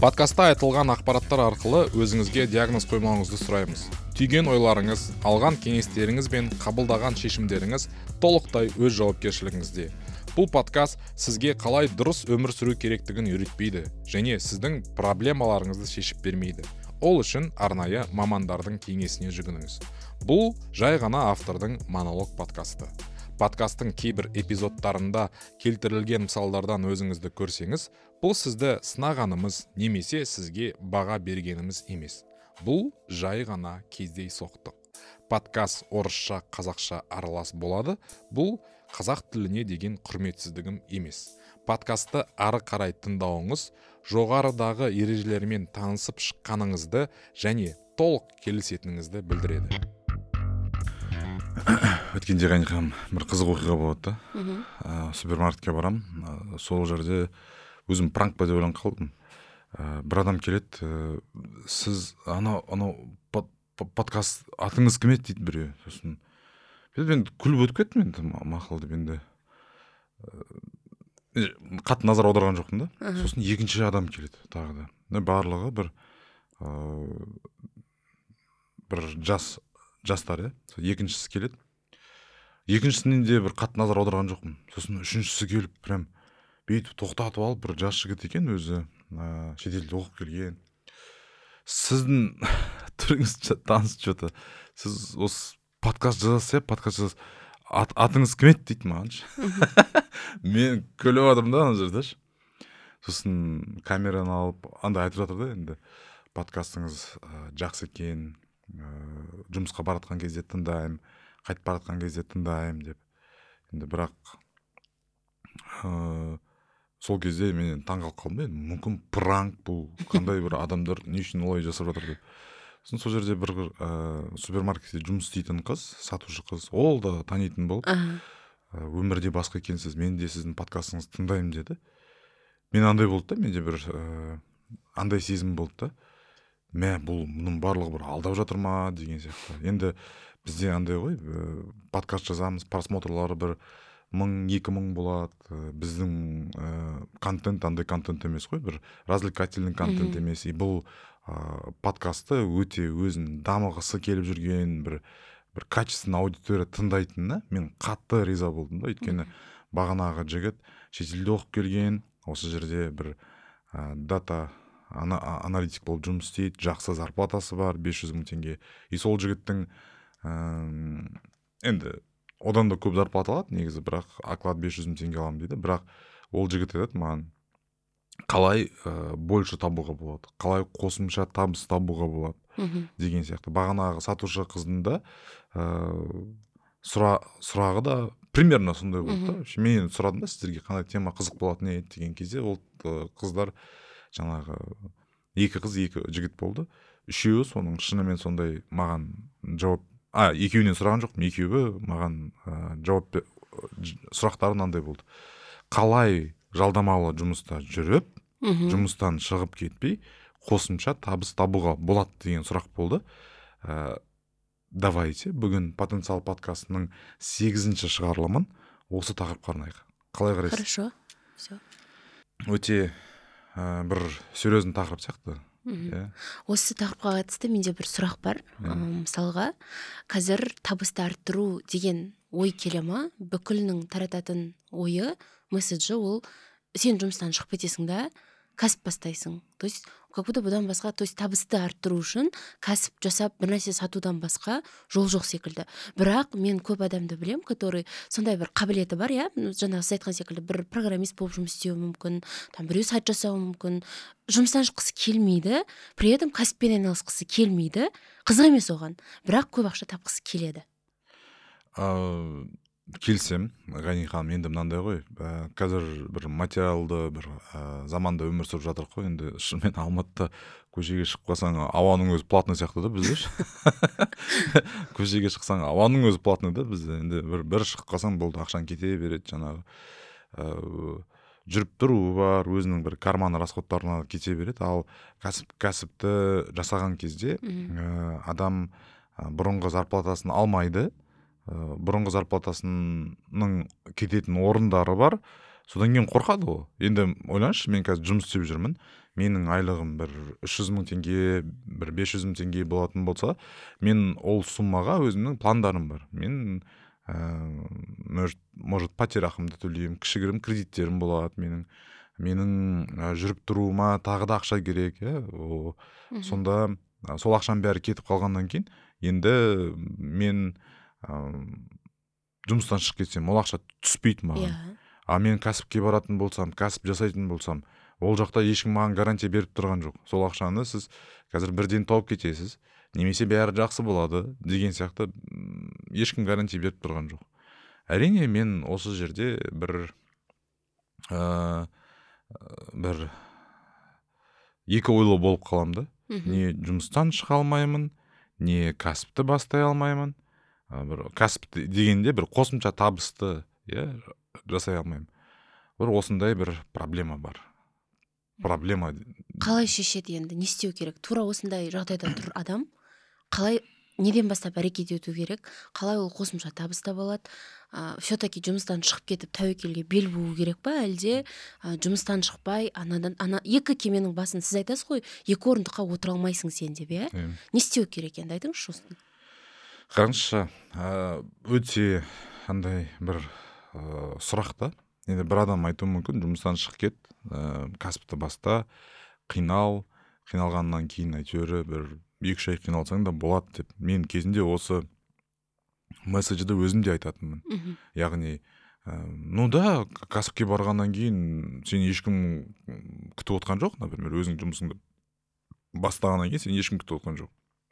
Подкастта айтылған ақпараттар арқылы өзіңізге диагноз қоймауыңызды сұраймыз. Түйген ойларыңыз, алған кеңестеріңіз бен қабылдаған шешімдеріңіз толықтай өз жауапкершілігіңізде. Бұл подкаст сізге қалай дұрыс өмір сүру керектігін үйретпейді және сіздің проблемаларыңызды шешіп бермейді. Ол үшін арнайы мамандардың кеңесіне жүгініңіз. Бұл жай ғана автордың монолог подкасты. Подкасттың кейбір эпизодтарында келтірілген мысалдардан өзіңізді көрсеңіз, бұл сізді сынағанымыз немесе сізге баға бергеніміз емес. Бұл жай ғана кездейсоқтық. Подкаст орысша, қазақша аралас болады. Бұл қазақ тіліне деген құрметсіздігім емес. Подкастты ары қарай тыңдауыңыз жоғарыдағы ережелермен танысып шыққаныңызды және толық келісетініңізді білдіреді. Өткенде қанекам бір қызық оқиға болады да. Супермаркетке барам. Сол жерде өзім пранк па деп ойланып қалдым. Бір адам келеді, сіз анау подкаст атыңыз кім еді дейді біреу. Сосын мен күліп өтіп кеттім енді мақұл деп енді қатты назар аударған жоқпын да. Сосын екінші адам келеді тағы да. Барлығы бір жастар, екіншісі келеді. Екіншісінен де бір қатты назар аударған жоқпын. Сосын үшіншісі келіп прям бүйтіп тоқтатып алып, бір жас жігіт екен өзі, шетелде оқып келген. Сіздің түріңіз таныс что-то. Сіз осы подкаст жазасыз, атыңыз кім еді дейді маған. Мен күліп отырмын да ана жерде. Сосын камераны алып, андай айтып жатыр да енді подкастыңыз жақсы екен. Жұмысқа баратқан кезде тыңдаймын, қайтып баратқан кезде тыңдаймын деп. Енді бірақ сол кезде мен таңғалып қалдым. Мүмкін пранк бұл, қандай бір адамдар не үшін олай жасап жатыр деп. Сосын сол жерде бір супермаркетте жұмыс істейтін қыз, сатушы қыз, ол да танитын болып, өмірде басқа екенсіз, мен де сіздің подкастыңызды тыңдаймын деді. Мен андай болды да, менде бір андай сезім болды да. Бұның барлығы бір алдап жатыр ма деген сияқты. Енді бізде андай ғой, подкаст жазамыз, просмотрлары бір 1000-2000 болады. Біздің контент андай контент емес қой, бір развлекательный контент емес. И бұл подкастты өте өзін дамығысы келіп жүрген бір качественный аудитория тыңдайтынына мен қатты риза болдым да. Өйткені бағанағы жігіт шетелде оқып келген, осы жерде бір дата аналитик болып жұмыс істейді, жақсы зарплатасы бар, 500 000 теңге. И сол жігіттің енді одан да көп зарплата алады негізі, бірақ оклад 500 000 теңге аламын дейді. Бірақ ол жігіт айтады маған, қалай больше табуға болады, қалай қосымша табыс табуға болады деген сияқты. Бағанағы сатушы қыздың да сұрағы да примерно сондай болды да. Мен сұрадым да, сіздерге қандай тема қызық болатын еді деген кезде, ол қыздар жаңағы екі қыз, екі жігіт болды. Үшеуі соның шынымен сондай маған жауап, екеуінен сұраған жоқпын, екеуі маған жауап сұрақтары мынандай болды. Қалай жалдамалы жұмыста жүріп, жұмыстан шығып кетпей, қосымша табыс табуға болады деген сұрақ болды. Давайте бүгін потенциал подкастының 8-ші шығарылымын осы тақырыпқа арнайық. Қалай қарайсыз? Хорошо. Все. Өте бір серьезный тақырып сияқты. Осы тақырыпқа қатысты менде бір сұрақ бар. Мысалға, қазір табысты арттыру деген ой келе ма? Бүкілінің тарататын ойы, месседжі ол, сен жұмыстан шығып кетесің да, кәсіп бастайсың. То есть, как будто бұдан басқа, то есть табысты арттыру үшін кәсіп жасап бір нәрсе сатудан басқа жол жоқ секілді. Бірақ мен көп адамды білем, который сондай бір қабілеті бар, жаңағы сіз айтқан секілді бір программист болып жұмыс істеуі мүмкін, біреу сайт жасауы мүмкін, жұмыстан шыққысы келмейді, при этом кәсіппен айналысқысы келмейді, қызық емес оған, бірақ көп ақша тапқысы келеді. Келсем, Ғани ханым, енді мынандай ғой, қазір бір материалды бір заманда өмір сүріп жатыр ғой, енді шынымен Алматыда көшеге шығып қалсаң, ауаның өзі платный сияқты да бізде. Көшеге шықсаң, ауаның өзі платный да бізде. Енді бір шығып қалсаң болды, ақшаң кете береді, жаңағы жүріп тұруы бар, өзінің бір карманы расходтарына кете береді. Ал кәсіпті жасаған кезде адам бұрынғы зарплатасын алмайды. Бұрынғы зарплатасының кететін орындары бар, содан кейін қорқады ғой. Енді ойлаңызшы, мен қазір жұмыс істеп жүрмін, менің айлығым бір 300 мың теңге, бір 500 мың теңге болатын болса, мен ол суммаға өзімнің пландарым бар. Мен может пәтерақымды төлеймін, кішігірім кредиттерім болады менің жүріп тұруыма тағы да ақша керек, сонда сол ақшаның бәрі кетіп қалғаннан кейін енді мен жұмыстан шығып кетсем, ол ақша түспейді маған. А мен кәсіпке баратын болсам, кәсіп жасайтын болсам, ол жақта ешкім маған гарантия беріп тұрған жоқ. Сол ақшаны сіз қазір бірден тауып кетесіз, немесе бәрі жақсы болады деген сияқты ешкім гарантия беріп тұрған жоқ. Әрине, мен осы жерде бір екі ойлы болып қалам да. Не жұмыстан шыға алмаймын, не кәсіпті бастай алмаймын. Бір кәсіп дегенде бір қосымша табысты жасай алмаймын. Бір осындай бір проблема бар. Проблема. Қалай шешеді енді? Не істеу керек? Тура осындай жағдайда тұр адам. Қалай, неден бастап әрекет ету керек? Қалай ол қосымша табыс таба алады? Все-таки жұмыстан шығып кетіп тәуекелге бел буу керек па? Әлде жұмыстан шықпай, екі кеменің басын, сіз айтасыз ғой, екі орындыққа отыра алмайсың сен деп, Не істеу керек енді? Айтыңызшы осыны. Қараңызшы, өте андай бір сұрақ та. Енді бір адам айтуы мүмкін, жұмыстан шығып кет, кәсіпті баста, қиналғаннан кейін әйтеуір бір 2-3 ай қиналсаң да болады деп. Мен кезінде осы месседжді өзім де айтатынмын. Яғни, да, кәсіпке барғаннан кейін сен ешкім күтіп отқан жоқ, например, өзің жұмысыңды бастағаннан кейін сен ешкім күтіп отқан жоқ.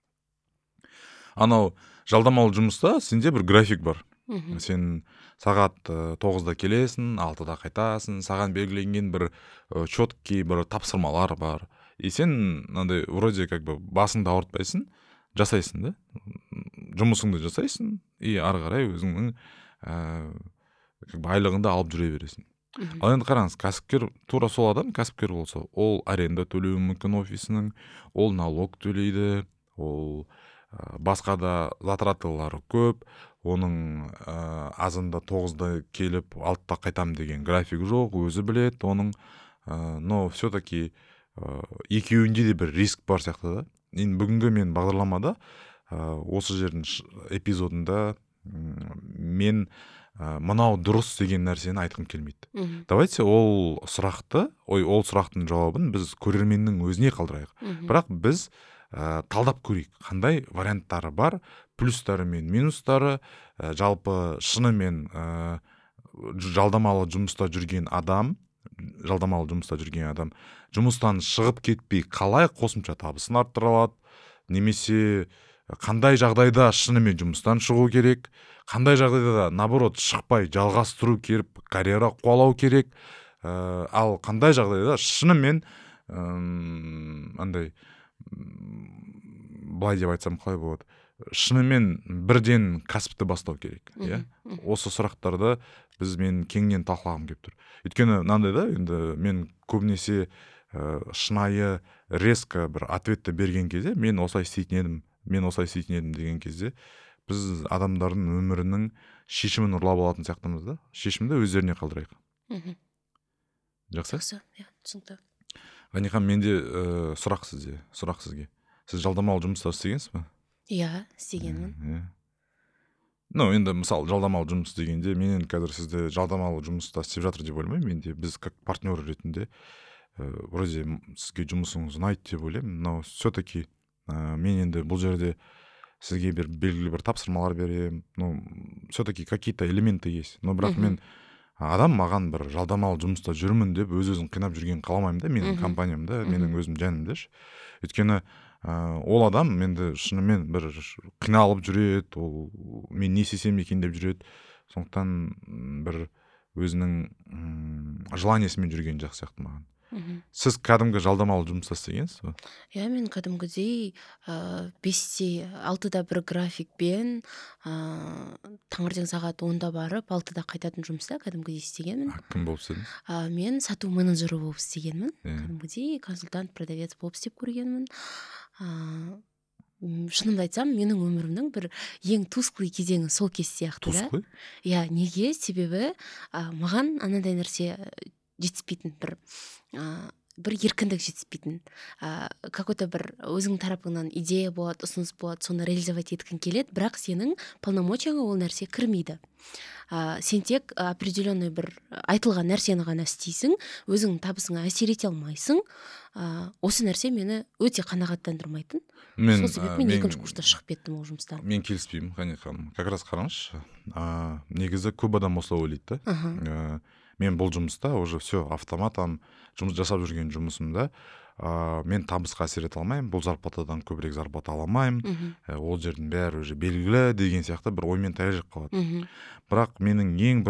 Анау жалдамалы жұмыста сенде бір график бар. Сен сағат 9-да келесің, 6-да қайтасың, саған белгіленген бір четкий бір тапсырмалар бар. И сен мынандай вроде как бы басыңды ауыртпайсың, жасайсың да, жұмысыңды жасайсың, и ары қарай өзіңнің айлығыңды алып жүре бересің. Ал енді қараңыз, кәсіпкер тура сол адам, кәсіпкер болса, ол аренда төлеуі мүмкін офисінің, ол налог төлейді, ол басқа да затратылары көп, оның азында 9-да келіп 6-да қайтам деген график жоқ, өзі білет, оның но все-таки екеуінде де бір риск бар сияқты да. Енді бүгінгі мен бағдарламада осы жердің эпизодында мен мынау дұрыс деген нәрсені айтқым келмейді. Давайте ол сұрақтың жауабын біз көрерменнің өзіне қалдырайық. Бірақ біз талдап көрейік, қандай варианттары бар, плюстары мен минустары, жалпы шынымен жалдамалы жұмыста жүрген адам, жұмыстан шығып кетпей қалай қосымша табысын арттыра алады, немесе қандай жағдайда шынымен жұмыстан шығу керек, қандай жағдайда наоборот шықпай жалғастыру керек, карьера қуалау керек, ал қандай жағдайда шынымен андай былай деп айтсам қалай болады, шынымен бірден кәсіпті бастау керек. Осы сұрақтарды мен кеңінен талқылағым келіп тұр. Өйткені мынандай да, енді мен көбінесе шынайы резко бір ответті берген кезде, мен осылай істейтін едім деген кезде, біз адамдардың өмірінің шешімін ұрлап алатын сияқтымыз да. Шешімді өздеріне қалдырайық. Жақсы? Түсінікті. Ғанихан, менде сұрақ сізге. Сіз жалдамалы жұмыста істегенсіз ба? Иә, істегенмін. Енді мысалы жалдамалы жұмыс дегенде, мен қазір сізді жалдамалы жұмыста істеп жатыр деп ойлаймын. Менде біз как партнер ретінде вроде сізге жұмысыңыз ұнайды деп ойлаймын. Но все-таки мен енді бұл жерде сізге белгілі бір тапсырмалар беремін. Все-таки какие-то элементы есть. Но бірақ мен адам маған бір жалдамалы жұмыста жүрмін деп өзін қинап жүрген қаламаймын да, менің компаниямда, менің өзім жанымда. Өйткені ол адам менде шынымен бір қиналып жүреді, ол мен не істесем екен деп жүреді. Сондықтан бір өзінің желаниесімен жүрген жақсы сияқты маған. Сіз кәдімгі жалдамалы жұмыста істегенсіз ба? Иә, мен кәдімгідей 5-те 6-да бір графикпен таңертең сағат 10-да барып 6-да қайтатын жұмыста кәдімгідей істегенмін. Кім болып істедіңіз? Мен сату менеджері болып істегенмін. Кәдімгідей консультант, продавец болып істеп көргенмін. шынымды айтсам менің өмірімнің бір ең тусклый кезеңі сол кез сияқты да. Тусклый? Иә, неге? Себебі маған анандай нәрсе жетіспейтін, бір еркіндік жетіспейтін. Какой-то бір өзің тарапыңнан идея болады, ұсыныс болады, соны реализовать еткің келеді, бірақ сенің полномочияңа ол нәрсе кірмейді. Сен тек определенный бір айтылған нәрсені ғана істейсің, өзің табысыңа әсер ете алмайсың. Осы нәрсе мені өте қанағаттандырмайтын. Сол себеппен екінші курста шығып кеттім ол жұмыстан. Мен келіспеймін, ханым. Как раз қараңызшы. Негізі көп адам осылай ойлайды да. Мен бұл жұмыста уже все автоматом жұмыс жасап жүрген жұмысымда мен табысқа әсер ете алмаймын, бұл зарплатадан көбірек зарплата ала алмаймын, ол жердің бәрі уже белгілі деген сияқты бір оймен таяжып қалады. Бірақ менің ең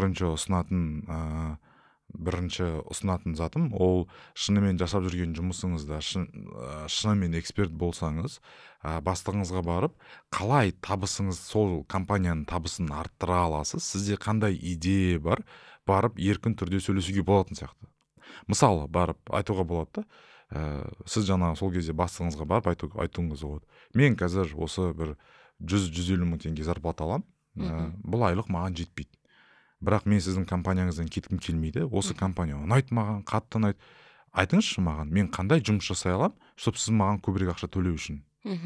бірінші ұсынатын затым, ол шынымен жасап жүрген жұмысыңызда шынымен эксперт болсаңыз, бастығыңызға барып, қалай табысыңыз, сол компанияның табысын арттыра аласыз, сізде қандай идея бар, барып еркін түрде сөйлесуге болатын сияқты. Мысалы, барып айтуға болады да, сіз жаңа сол кезде бастығыңызға барып айтуыңыз болады. Мен қазір осы бір 100-150 мың теңге зарплата аламын, бұл айлық маған жетпейді. Бірақ мен сіздің компанияңыздан кеткім келмейді, осы компания ұнайды маған, қатты ұнайды. Айтыңызшы маған, мен қандай жұмыс жасай аламын, чтобы сіз маған көбірек ақша төлеу үшін.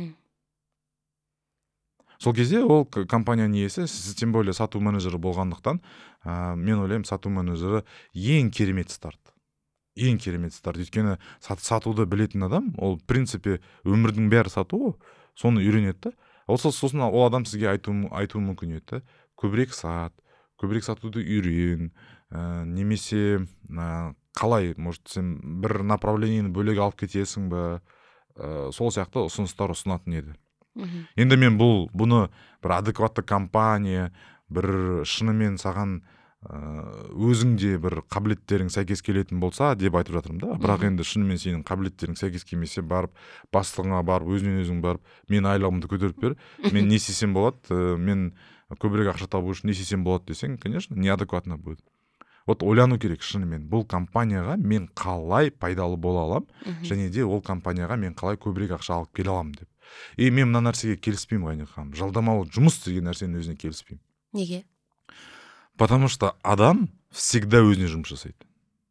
Сол кезде ол компанияның иесі, сіз тем более сату менеджері болғандықтан, мен ойлаймын, сату менеджері ең керемет старт. Ең керемет старт. Өйткені сатуды білетін адам, ол в принципе өмірдің бәрі сату, соны үйренеді. Сосын ол адам сізге айтуы мүмкін еді. Көбірек сатуды үйрен, немесе қалай, может, сен бір направлениені бөлек алып кетесің ба, сол сияқты ұсыныстар ұсынатын еді. Енді мен бұны бір адекватты компания, бір шынымен саған өзіңде бір қабілеттерің сәйкес келетін болса деп айтып жатырмын да. Бірақ енді шынымен сенің қабілеттерің сәйкес келмесе, барып бастығыңа барып, өзінен барып, мен айлығымды көтеріп бер, мен не істесем болады, мен көбірек ақша табу үшін не істесем болады десең, конечно, неадекватно будет. Вот ойлану керек шынымен, бұл компанияға мен қалай пайдалы бола алам, және де ол компанияға мен қалай көбірек ақша алып келе аламын деп. Мен мына нәрсеге келіспеймін, Ғайнек ханым. Жалдамалы жұмыс деген нәрсенің өзіне келіспеймін. Неге? Потому что адам всегда өзіне жұмыс жасайды.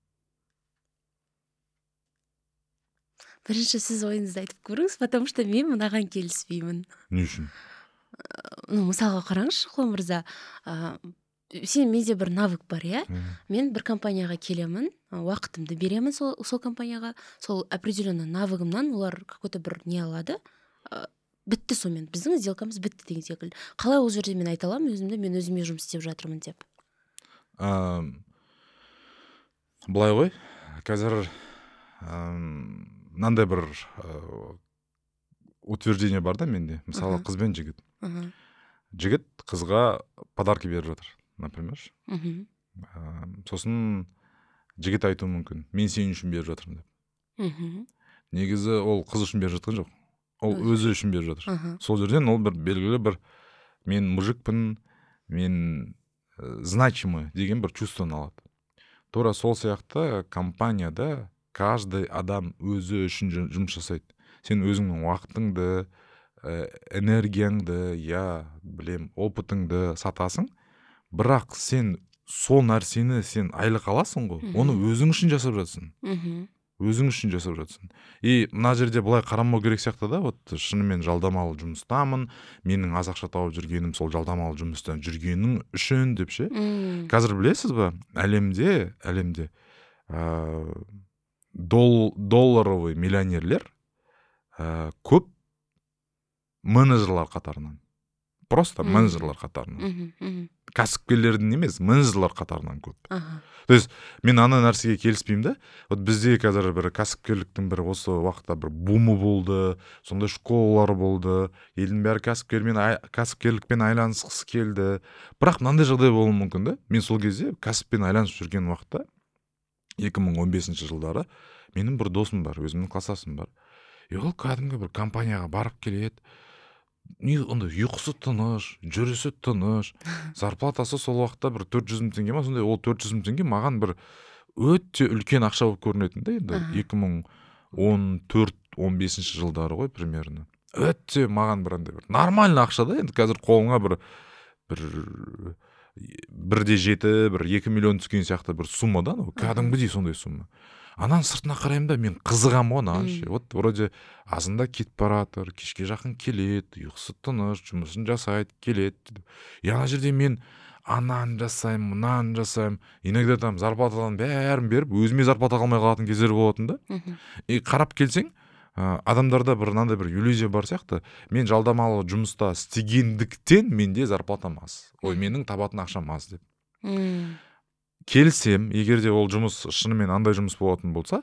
Бірінші сіз ойыңызды айтып көріңіз, потому что мен мынаған келіспеймін. Не үшін? Мысалға қараңызшы, Құлан мырза, менде бір навык бар, иә? Мен бір компанияға келемін, уақытымды беремін сол компанияға, сол определенный навыгымнан олар какой-то бір не алады, бітті сонымен, біздің сделкамыз бітті деген секілді. Қалай ол жерде мен айта аламын өзімді, мен өзіме жұмыс істеп жатырмын деп? Былай ғой, қазір мынандай бір утверждение бар да менде, мысалы қыз бен жігіт. Жігіт қызға подарки беріп жатыр, например. Сосын жігіт айтуы мүмкін, мен сен үшін беріп жатырмын деп. Негізі ол қыз үшін беріп жатқан жоқ, ол өзі үшін беріп жатыр. Сол жерден ол бір белгілі бір мен мужикпін, мен значимый деген бір чувствоны алады. Тура сол сияқты компанияда каждый адам өзі үшін жұмыс жасайды. Сен өзіңнің уақытыңды, энергияңды, опытыңды сатасың, бірақ сен сол нәрсені сен айлық аласың ғой, оны өзің үшін жасап жатсың. Өзің үшін жасап жатсың. Мына жерде былай қарамау керек сияқты да, вот шынымен жалдамалы жұмыстамын, менің аз ақша тауып жүргенім сол жалдамалы жұмыстан жүргенің үшін деп ше. Қазір білесіз ба, әлемде долларовый миллионерлер көп менеджерлар қатарынан. Просто менеджерлар қатарынан. Кәсіпкерлердің емес, менеджерлар қатарынан көп. То есть, мен ана нәрсеге келіспеймін да. Вот бізде қазір бір кәсіпкерліктің бір осы уақытта бір бумы болды, сондай школалар болды, елдің бәрі кәсіпкерлікпен айланысқысы келді. Бірақ мынандай жағдай болуы мүмкін да. Мен сол кезде кәсіппен айланысып жүрген уақытта 2015 жылдары менің бір досым бар, өзімнің кластасым бар. Ол кәдімгі бір компанияға барып келеді. Онда ұйқысы тыныш, жүрісі тыныш, зарплатасы сол уақытта бір 400 мың теңге ма, сондай, ол 400 мың теңге маған бір өте үлкен ақша болып көрінетін да, енді 2014-15 жылдары ғой примерно. өте маған бір андай бір нормальный ақша да. Енді қазір қолыңа бір 1,7 бір 2 миллион түскен сияқты бір сумма да, кәдімгідей сондай сумма. Ананың сыртына қараймын да, мен қызығамын ғой оған ше. Вот вроде азында кетіп баратыр, кешке жақын келеді, ұйқысы тыныш, жұмысын жасайды, келеді. Ана жерде мен ананы жасаймын, мынаны жасаймын. Иногда там зарплатадан бәрін беріп, өзіме зарплата қалмай қалатын кездер болатын да. Қарап келсең, адамдарда бір мынандай бір иллюзия бар сияқты. Мен жалдамалы жұмыста істегендіктен менде зарплатам аз. Ой, менің табатын ақшам аз деп. Келсем, егер де ол жұмыс шынымен андай жұмыс болатын болса,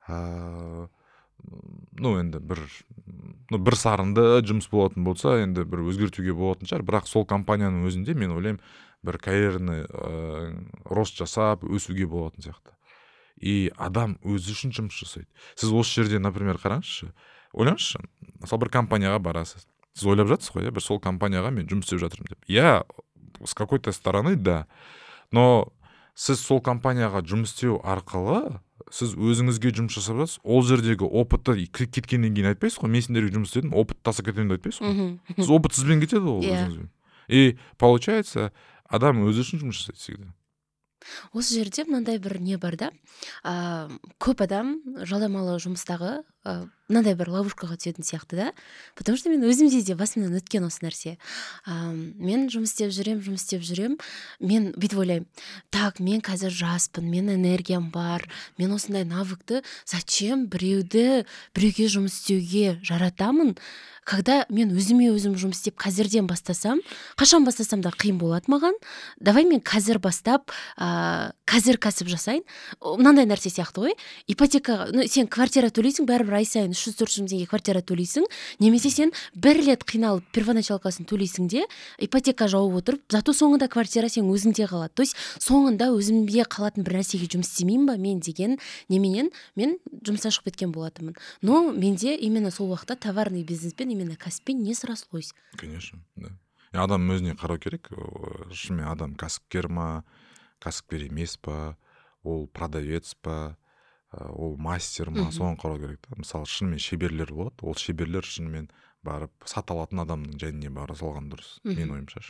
енді бір сарынды жұмыс болатын болса, енді бір өзгертуге болатын шығар. Бірақ сол компанияның өзінде мен ойлаймын, бір карьерный рост жасап, өсуге болатын сияқты. И адам өзі үшін жұмыс жасайды. Сіз осы жерде, например, қараңызшы, ойлаңызшы, мысалы бір компанияға барасыз. Сіз ойлап жатсыз ғой, бір сол компанияға мен жұмыс істеп жатырмын деп. Я с какой-то стороны, да. Но сіз сол компанияға жұмыс істеу арқылы сіз өзіңізге жұмыс жасап жатсыз. Ол жердегі опытты кеткеннен кейін айтпайсыз ғой, мен сендерге жұмыс істедім, опыт таса кетемін деп айтпайсыз ғой. Сіз опытсызбен кетеді ол өзіңізбен. И получается, адам өзі үшін жұмыс жасайды всегда. Осы жерде мынандай бір не бар да, көп адам жалдамалы жұмыстағы мынандай бір ловушкаға түсетін сияқты да, потому что мен өзімде де басымнан өткен осы нәрсе. Мен жұмыс істеп жүрем, мен бүйтіп ойлаймын, так, мен қазір жаспын, мен энергиям бар, мен осындай навыкты зачем біреуге жұмыс істеуге жаратамын, когда мен өзім жұмыс істеп қазірден бастасам, қашан бастасам да қиын болады маған. Давай мен қазір бастап, қазір кәсіп жасайын. Мынандай нәрсе сияқты ғой. Ипотека, сен квартира төлейсің, бәрібір ай сайын 300-400 теңге квартира төлейсің, немесе сен бір рет қиналып первоначалкасын төлейсің де, ипотека жауып отырып, зато соңында квартира сен өзіңде қалады. То есть соңында өзімде қалатын бір нәрсеге жұмыс істемеймін ба мен деген неменен мен жұмыстан шығып кеткен болатынмын. Но менде именно сол уақытта товарный бизнеспен, именно кәсіппен не срослось. Конечно, да. Адам өзіне қарау керек. Шынымен адам кәсіпкер ма, кәсіпкер емес па, ол продавец па, ол мастер ма, соған қарау керек. Мысалы, шынымен шеберлер болады. Ол шеберлер шынымен барып сата алатын адамның жайына бара салған дұрыс. Мен ойымша.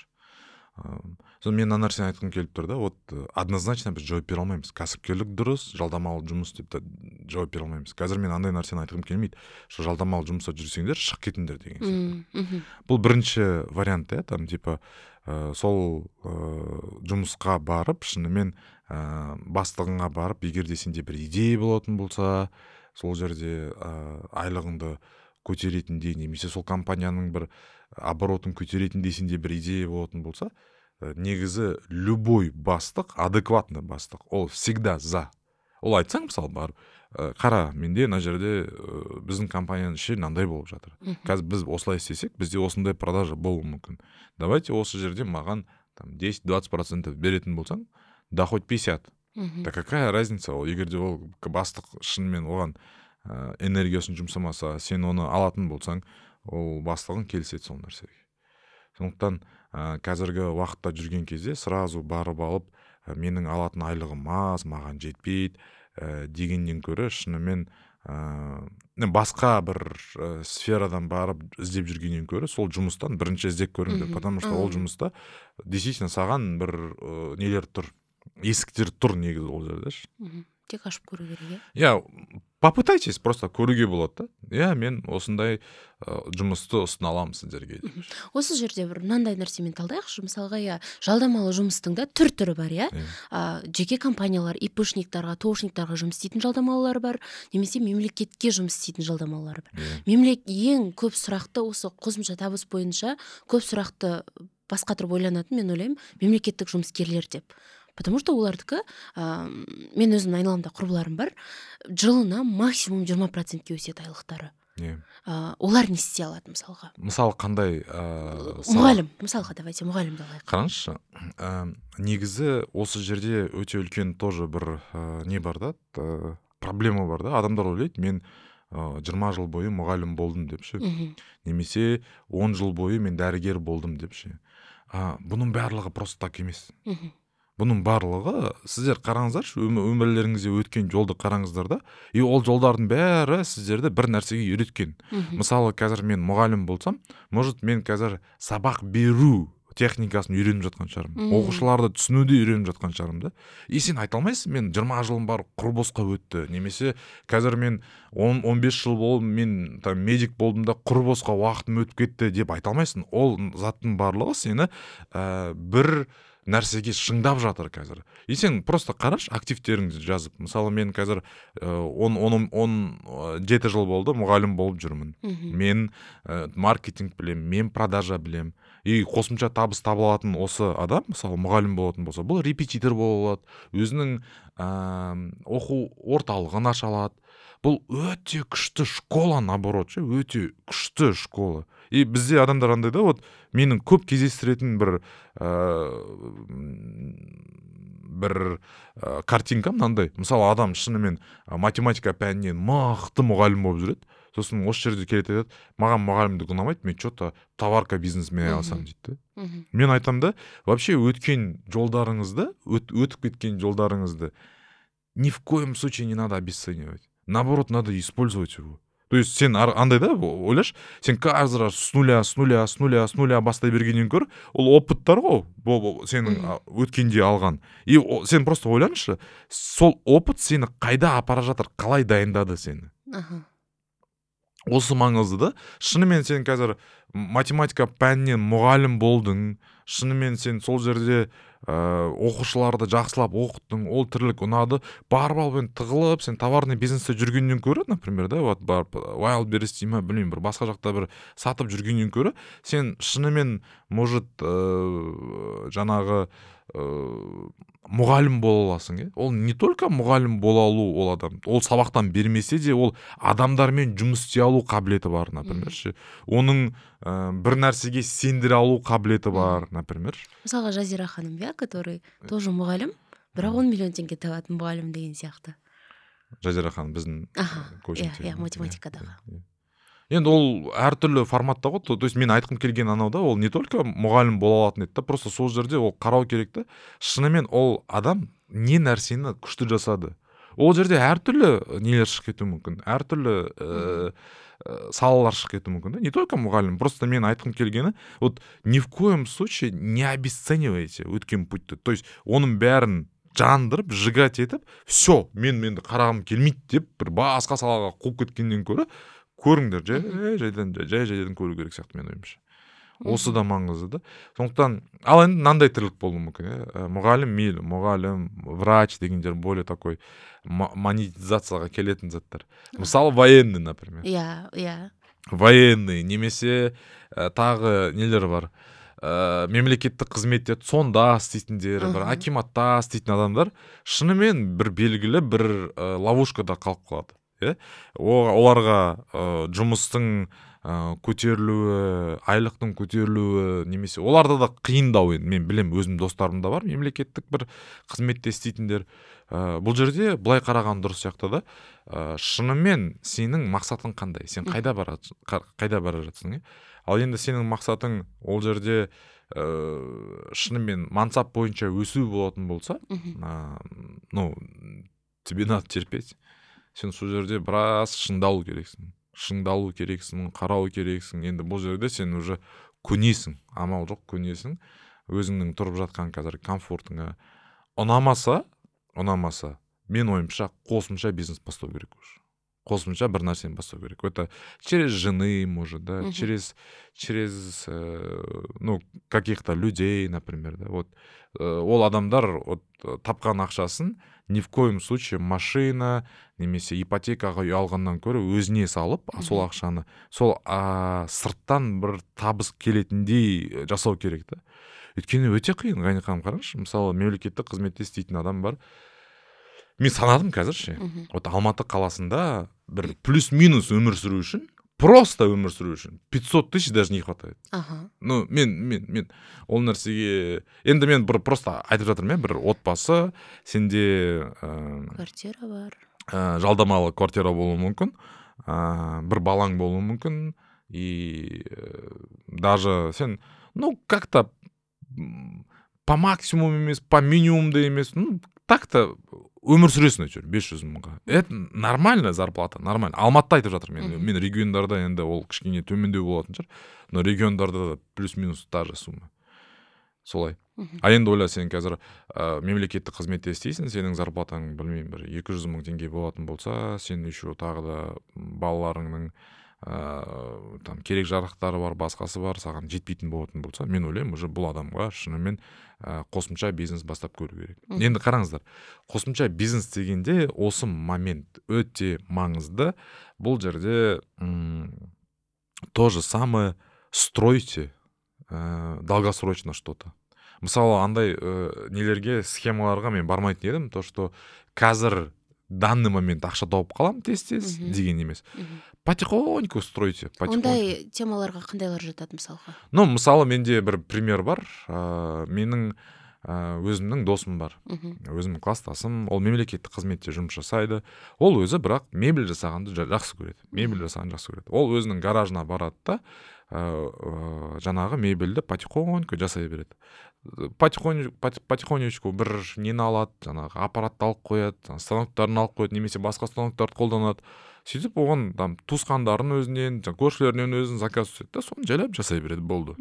Мен мына нәрсені айтқым келіп тұр да, вот однозначно біз жауап бере алмаймыз. Кәсіпкерлік дұрыс, жалдамалы жұмыс деп жауап бере алмаймыз. Қазір мен андай нәрсені айтқым келмейді. Что жалдамалы жұмыста жүрсеңдер, шығып кетіңдер деген сияқты. Бұл бірінші вариант, там типа сол жұмысқа барып, шынымен бастығыңа барып, егер де сенде бір идея болатын болса, сол жерде айлығыңды көтеретіндей, немесе сол компанияның бір оборотын көтеретіндей сенде бір идея болатын болса, негізі любой бастық, адекватный бастық, ол всегда за. Ол айтсаң, мысалы, бар, қара, менде мына жерде біздің компанияның іші мынандай болып жатыр. Қазір біз осылай істесек, бізде осындай продажа болуы мүмкін. Давайте осы жерде маған 10-20% беретін болсаң, да хоть 50. Да какая разница, ол егер де ол бастық шынымен оған энергиясын жұмсамаса, сен оны алатын болсаң, ол бастығын келіседі сол нәрсеге. Сондықтан қазіргі уақытта жүрген кезде сразу барып алып, менің алатын айлығым аз, маған жетпейді дегеннен көрі шынымен басқа бір сферадан барып іздеп жүргеннен көрі сол жұмыстан бірінші іздеп көріңдер, потому что ол жұмыста действительно саған бір нелер тұр, есіктер тұр негізі ол жерде. Тек ашып көру керек, иә? Попытайтесь, просто көруге болады да. Мен осындай жұмысты ұсына аламын сіздерге. Осы жерде бір мынандай нәрсемен талдайықшы. Мысалға, жалдамалы жұмыстың да түрі бар, жеке компаниялар, ИПшниктарға, ТОшниктарға жұмыс істейтін жалдамалылар бар, немесе мемлекетке жұмыс істейтін жалдамалылар бар. Ең көп сұрақты осы қосымша табыс бойынша көп сұрақты басқа тұрып ойланатын, мен ойлаймын, мемлекеттік жұмыскерлер деп. Потому что олардікі, мен өзім айналамда құрбыларым бар, жылына максимум 20%-ке өседі айлықтары. Олар не істей алады, мысалға? Мысалы, қандай? Мұғалім, мысалға, давайте мұғалімді алайық. Қараңызшы, негізі осы жерде өте үлкен тоже бір не бар да, проблема бар да. Адамдар ойлайды, мен 20 жыл бойы мұғалім болдым депші. Немесе 10 жыл бойы мен дәрігер болдым депші. Бұның барлығы просто так емес. бұның барлығы сіздер қараңыздаршы, өмірлеріңізде өткен жолды қараңыздар да, и ол жолдардың бәрі сіздерді бір нәрсеге үйреткен. Мысалы, қазір мен мұғалім болсам, может мен қазір сабақ беру техникасын үйреніп жатқан шығармын, оқушыларды түсінуді үйреніп жатқан шығармын да. И сен айта алмайсың, мен 20 жылым бар құр босқа өтті, немесе қазір мен 10-15 жыл болдым, мен медик болдым да құр босқа уақытым өтіп кетті деп айта алмайсың. Ол заттың барлығы сені бір нәрсеге шыңдап жатыр қазір. И сен просто қараш, активтеріңді жазып. Мысалы, мен қазір 17 жыл болды мұғалім болып жүрмін. Мен маркетинг білем, мен продажа білем. И қосымша табыс табылатын осы адам, мысалы, мұғалім болатын болса, бұл репетитор бола алады, өзінің оқу орталығын аша алады. Бұл өте күшті школа, наоборот, өте күшті школа. И бізде адамдар андай да, вот менің көп кездестіретін бір картинка мынандай. Мысалы, адам шынымен математика пәнінен мықты мұғалім болып жүреді. Сосын осы жерде келеді айтады, маған мұғалімдік ұнамайды, мен что-то товарка бизнесмен айналысамын дейді. Мен айтам да, вообще өткен жолдарыңызды, өтіп кеткен жолдарыңызды ни в коем случае не надо обесценивать. Наоборот, надо использовать его. То есть сен андай да, ойлаш, сен каждый раз с нуля бастай бергеннен көр, ол опыттар ғой, сенің өткенде алған. И сен просто ойланышы, сол опыт сені қайда апара жатыр, қалай дайындады сені. Осы маңызды да. Шынымен сен қазір математика пәнінен мұғалім болдың, шынымен сен сол жерде оқушыларды жақсылап оқыттың, ол тірлік ұнады, барып алып тығылып, сен товарный бизнесте жүргеннен көрі, например, да, вот барып Wildberries дейме, білмеймін, бір басқа жақта бір сатып жүргеннен көрі, сен шынымен может жаңағы мұғалім бола аласың. Ол не только мұғалім бола алу, ол адам, ол сабақтан бермесе де, ол адамдармен жұмыс істей алу қабілеті бар, например. Оның бір нәрсеге сендіре алу қабілеті бар, например. Мысалға, Жазира ханым, который тоже мұғалім, бірақ 10 миллион теңге табатын мұғалім деген сияқты. Жазира ханым біздің коучинг, математикадағы. Енді ол әртүрлі форматта ғой. То есть мен айтқым келген анау да, ол не только мұғалім бола алатын еді, просто сол жерде ол қарау керек та. Шынымен ол адам не нәрсені күшті жасады. Ол жерде әртүрлі нелер шығып кетуі мүмкін, әртүрлі салалар шығып кетуі мүмкін да. Не только мұғалім, просто мен айтқым келгені, вот ни в коем случае не обесценивайте өткен путьті. То есть оның бәрін жандырып, жигать етіп, все, менді қарағым келмейді деп бір басқа салаға қуып кеткеннен көрі, көріңдер, жай-жайдан көру керек сияқты мен ойымша. Осы да маңызды да. Сондықтан, ал енді мынандай тірлік болуы мүмкін. Мұғалім мейлі, мұғалім, врач дегендер более такой монетизацияға келетін заттар. Мысалы, военный, например. Военный, немесе тағы нелер бар. Мемлекеттік қызметте сонда істейтіндер, бір акиматта істейтін адамдар шынымен бір белгілі бір ловушкада қалып қалады. Оларға жұмыстың көтерілуі, айлықтың көтерілуі, немесе оларда да қиындау. Мен білем, өзім достарымда бар мемлекеттік бір қызметте істейтіндер. Бұл жерде былай қараған дұрыс сияқты да, шынымен сенің мақсатың қандай, сен қайда бара жатсың. Ал енді сенің мақсатың ол жерде шынымен мансап бойынша өсу болатын болса, тебе надо терпеть. Сен сол жерде біраз шыңдалу керексің, қарау керексің. Енді бұл жерде сен уже көнесің, амал жоқ көнесің, өзіңнің тұрып жатқан қазір комфортыңа. Ұнамаса, мен ойымша қосымша бизнес бастау керек уже. Қосымша бір нәрсені бастау керек. Это через жены, может, да, через каких-то людей, например, да. Вот ол адамдар тапқан ақшасын ни в коем случае машина немесе ипотекаға үй алғаннан көрі өзіне салып, сол ақшаны сол сырттан бір табыс келетіндей жасау керек та. Өйткені өте қиын. Ғани ханым, қараңызшы, мысалы, мемлекеттік қызметте істейтін адам бар. Мен санадым қазір вот Алматы қаласында бір плюс-минус өмір сүру үшін, просто өмір сүру үшін 500 тысяч даже не хватает. Ну, мен ол нәрсеге, енді мен бір просто айтып жатырмын, бір отбасы, сенде квартира бар, жалдамалы квартира болуы мүмкін, бір балаң болуы мүмкін, и даже сен, как-то по максимуму емес, по минимуму да емес, так-то өмір сүресің әйтеуір 500 мыңға. Это нормальная зарплата, нормально. Алматыда айтып жатырмын мен региондарда енді ол кішкене төмендеу болатын шығар, но региондарда плюс-минус та же сумма. Солай. А енді ойла, сен қазір мемлекеттік қызметте істейсің, сенің зарплатаң білмеймін бір 200 мың теңге болатын болса, сен еще тағы да балаларыңның там керек жарақтары бар, басқасы бар, саған жетпейтін болатын болса, мен ойлаймын, уже бұл адамға шынымен қосымша бизнес бастап көру керек. Енді қараңыздар, қосымша бизнес дегенде осы момент өте маңызды. Бұл жерде то же самое стройте долгосрочно что-то. Мысалы, андай нелерге, схемаларға мен бармайтын едім, то что қазір данный момент ақша тауып қалам тез-тез деген емес. Потихоньку стройте. Ондай темаларға қандайлар жатады мысалға? Мысалы, менде бір пример бар. Менің өзімнің досым бар. Өзімнің класстасым, ол мемлекеттік қызметте жұмыс жасайды. Ол өзі бірақ мебель жасағанды жақсы көреді. Мебель жасағанды жақсы көреді. Ол өзінің гаражына барады да, жаңағы мебельді потихоньку жасай береді. Потихонечку бір нені алады, жаңағы аппаратты алып қояды, станоктарын алып қояды, немесе басқа станоктарды қолданады. Сөйтіп оған там туысқандарын өзінен, көршілерінен өзін заказ түседі да, соны жайлап жасай береді, болды.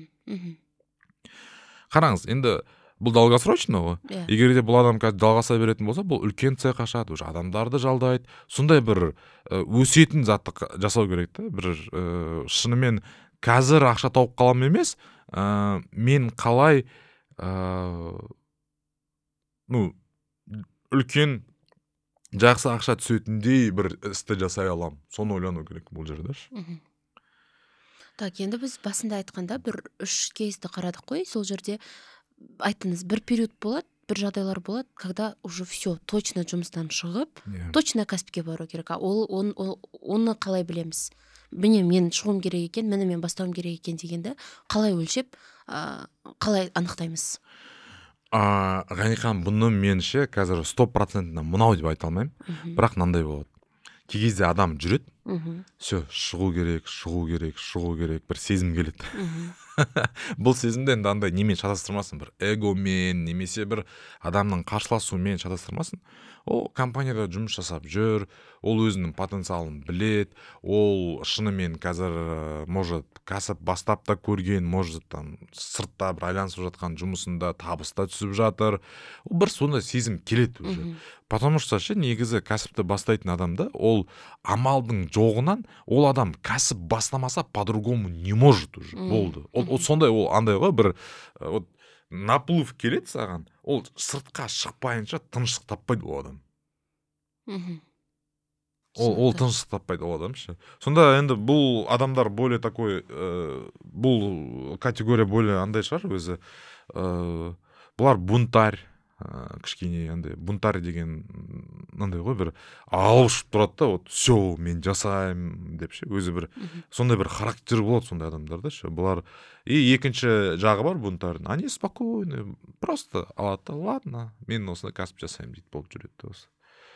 Қараңыз, енді бұл долгосрочно ғой. Егер де бұл адам қазір жалғаса беретін болса, бұл үлкен цех ашады, уже адамдарды жалдайды. Сондай бір өсетін затты жасау керек та, бір шынымен қазір ақша тауып қалам емес, мен қалай үлкен жақсы ақша түсетіндей бір істі жасай алам. Соны ойлану керек бұл жерде. Так, енді біз басында айтқанда бір 3 кейсті қарадық қой, сол жерде айттыңыз, бір период болады, бір жағдайлар болады, когда уже все, точно жұмыстан шығып, точно кәсіпке бару керек. Оны қалай білеміз? Міне мен шығуым керек екен, міне мен бастауым керек екен дегенді қалай өлшеп, қалай анықтаймыз? Ғанихан, бұны менше қазір 100% мынау деп айта алмаймын, бірақ мынандай болады. Кей кезде адам жүреді, все, шығу керек, бір сезім келеді. Бұл сезімді енді андай немен шатастырмасын, бір эгомен, немесе бір адамның қарсыласуымен шатастырмасын. Ол компанияда жұмыс жасап жүр, ол өзінің потенциалын білет, ол шынымен қазір может кәсіп бастап та көрген, может там сыртта бір айланысып жатқан жұмысында табыста түсіп жатыр. Ол бір сондай сезім келеді уже. Потому что негізі кәсіпті бастайтын адамда ол амалдың жоғынан ол адам кәсіп бастамаса по-другому не может уже. Болды. Ол сондай, ол андай ғой, бір наплыв келеді саған, ол сыртқа шықпайынша тыныштық таппайды ол адам. Ол тыныштық таппайды ол адам. Сонда енді бұл адамдар более такой, бұл категория более андай шығар өзі. Бұлар бунтарь, кішкене андай бунтарь деген андай ғой, бір алышып тұрады да, вот все, мен жасаймын деп өзі бір сондай бір характер болады сондай адамдарда. Бұлар и екінші жағы бар бунтардың. Они спокойны, просто алады да, ладно, мен осындай кәсіп жасаймын дейді, болып жүреді осы.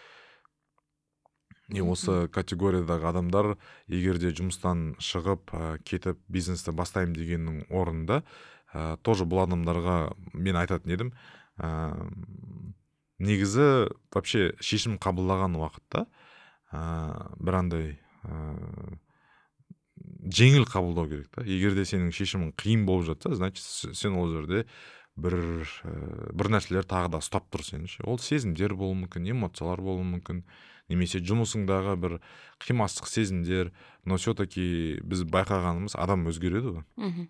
И осы категориядағы адамдар егер де жұмыстан шығып кетіп бизнесті бастаймын дегеннің орнында тоже бұл адамдарға мен айтатын едім, негізі вообще шешім қабылдаған уақытта бір андай жеңіл қабылдау керек та. Егер де сенің шешімің қиын болып жатса, значит сен ол жерде бір нәрселер тағы да ұстап тұр сені. Ол сезімдер болуы мүмкін, эмоциялар болуы мүмкін, немесе жұмысыңдағы бір қимастық сезімдер, но все-таки біз байқағанымыз адам өзгереді ғой.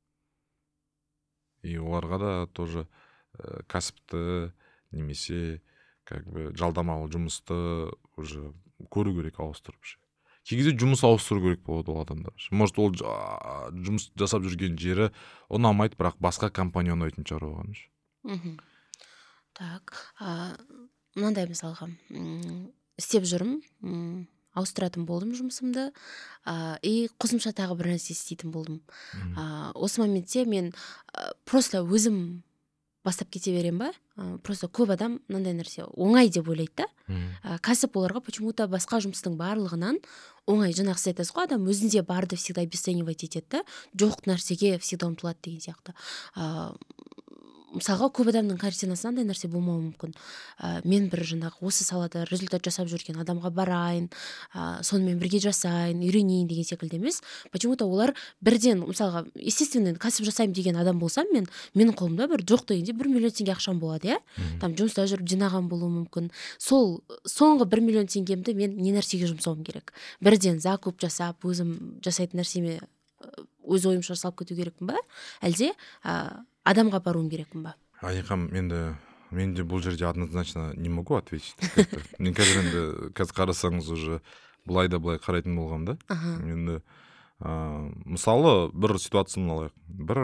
И оларға да тоже кәсіпті немесе как бы жалдамалы жұмысты уже көру керек, ауыстырып. Кей кезде жұмыс ауыстыру керек болады ол адамдар. Может, ол жұмыс жасап жүрген жері ұнамайды, бірақ басқа компания ұнайтын шығар оған. Так, мынандай мысалға, істеп жүрмін, ауыстыратын болдым жұмысымды, и қосымша тағы бір нәрсе істейтін болдым. Осы моментте мен просто өзім бастап кете берем ба? Просто көп адам мынандай нәрсе оңай деп ойлайды да. Кәсіп оларға почему-то басқа жұмыстың барлығынан оңай. Жаңағы сіз айтасыз ғой, адам өзінде барды всегда обесценивать етеді да, жоқ нәрсеге всегда ұмтылады деген сияқты. мысалға көп адамның картинасында андай нәрсе болмауы мүмкін. Мен бір жаңағы осы салада результат жасап жүрген адамға барайын, сонымен бірге жасайын, үйренейін деген секілді емес. Почему-то олар бірден, мысалға, естественно, кәсіп жасаймын деген адам болсам, менің қолымда бір жоқ дегенде 1 миллион теңге ақшам болады, там жұмыста жүріп жинаған болуы мүмкін. Сол соңғы 1 миллион теңгемді мен не нәрсеге жұмсауым керек? Бірден закуп жасап, өзім жасайтын нәрсеме өз ойымша салып кету керекпін ба? Әлде адамға баруым керекпін ба? Айқам, мен де бұл жерде однозначно не могу ответить. Мен қазір қарасаңыз уже былай да былай қарайтын болғам да. Енді мысалы бір ситуацияны алайық. Бір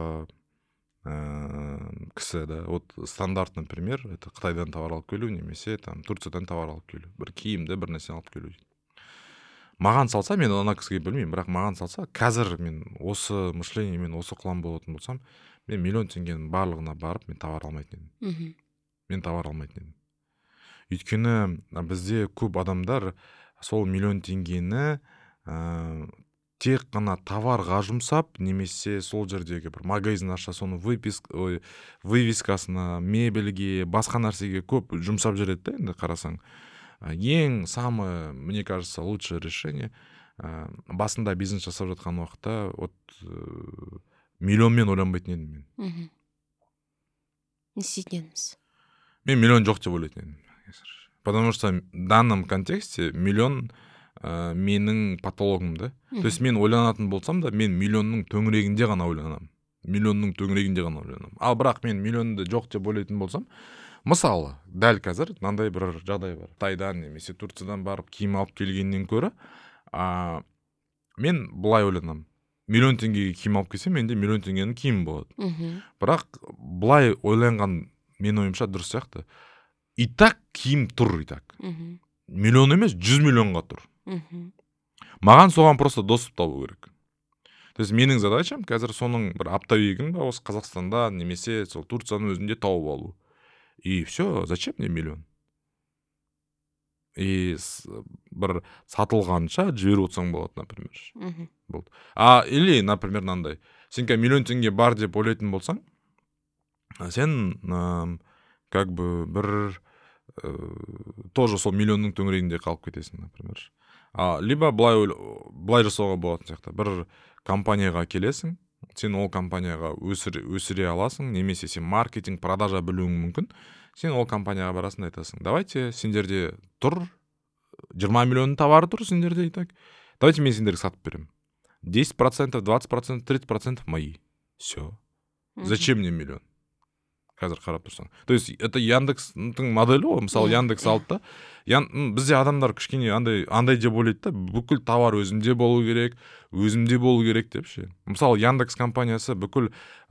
кісі, да, вот стандарт, например, это Қытайдан товар алып келу, немесе там Турциядан товар алып келу. Бір киімді бір нәрсе алып келу. Маған салса, мен ана кісіге білмеймін, бірақ маған салса, қазір мен осы мышлениемен осы қылам болатын болсам, мен 1 миллион теңгенің барлығына барып, мен товар алмайтын едім. Мен товар алмайтын едім. Өйткені бізде көп адамдар сол 1 миллион теңгені тек қана товарға жұмсап, немесе сол жердегі бір магазин аша, соны вывескасына, мебельге, басқа нәрсеге көп жұмсап жүреді да, енді қарасаң. Ең самое, мне кажется, лучшее решение басында бизнес жасап жатқан уақытта вот миллионмен ойланбайтын едім мен. Не істейтін едіңіз? Мен миллион жоқ деп ойлайтын едім. Потому что в данном контексте миллион менің патологым да. То есть мен ойланатын болсам да, мен миллионның төңірегінде ғана ойланамын. Ал бірақ мен миллионды жоқ деп ойлайтын болсам, мысалы, дәл қазір мынандай бір жағдай бар. Қытайдан немесе Турциядан барып киім алып келгеннен көрі, мен былай ойланамын. 1 миллион теңгеге киім алып келсем, менде 1 миллион теңгенің киімі болады. Бірақ былай ойланған мен ойымша дұрыс сияқты. И так киім тұр, и так. Миллион емес, 100 миллионға тұр. Маған соған просто доступ табу керек. То есть менің задачам қазір соның бір оптовигін осы Қазақстанда немесе сол Турцияның өзінде тауып алу. И все, зачем мне 1 миллион? И бір сатылғанша жіберіп отырсаң болады, например. Болды. Или, например, мынандай. Сен 1 миллион теңге бар деп ойлайтын болсаң, сен как бы бір тоже сол миллионның төңірегінде қалып кетесің, например. Либо былай жасауға болатын сияқты. Бір компанияға келесің, сен ол компанияға өсіре аласың, немесе сен маркетинг, продажа білуің мүмкін. Сен ол компанияға барасың, айтасың. Давайте сендерде тұр, 20 миллионның товары тұр сендерде, и так. Давайте мен сендерге сатып берем. 10%, 20%, 30% мои. Все. Зачем мне миллион? Қазір қарап тұрсаң. То есть это Яндекстің моделі ғой. Мысалы Яндекс алды да. Бізде адамдар кішкене андай деп ойлайды да, бүкіл товар өзімде болу керек деп ше. Мысалы Яндекс компаниясы бүкіл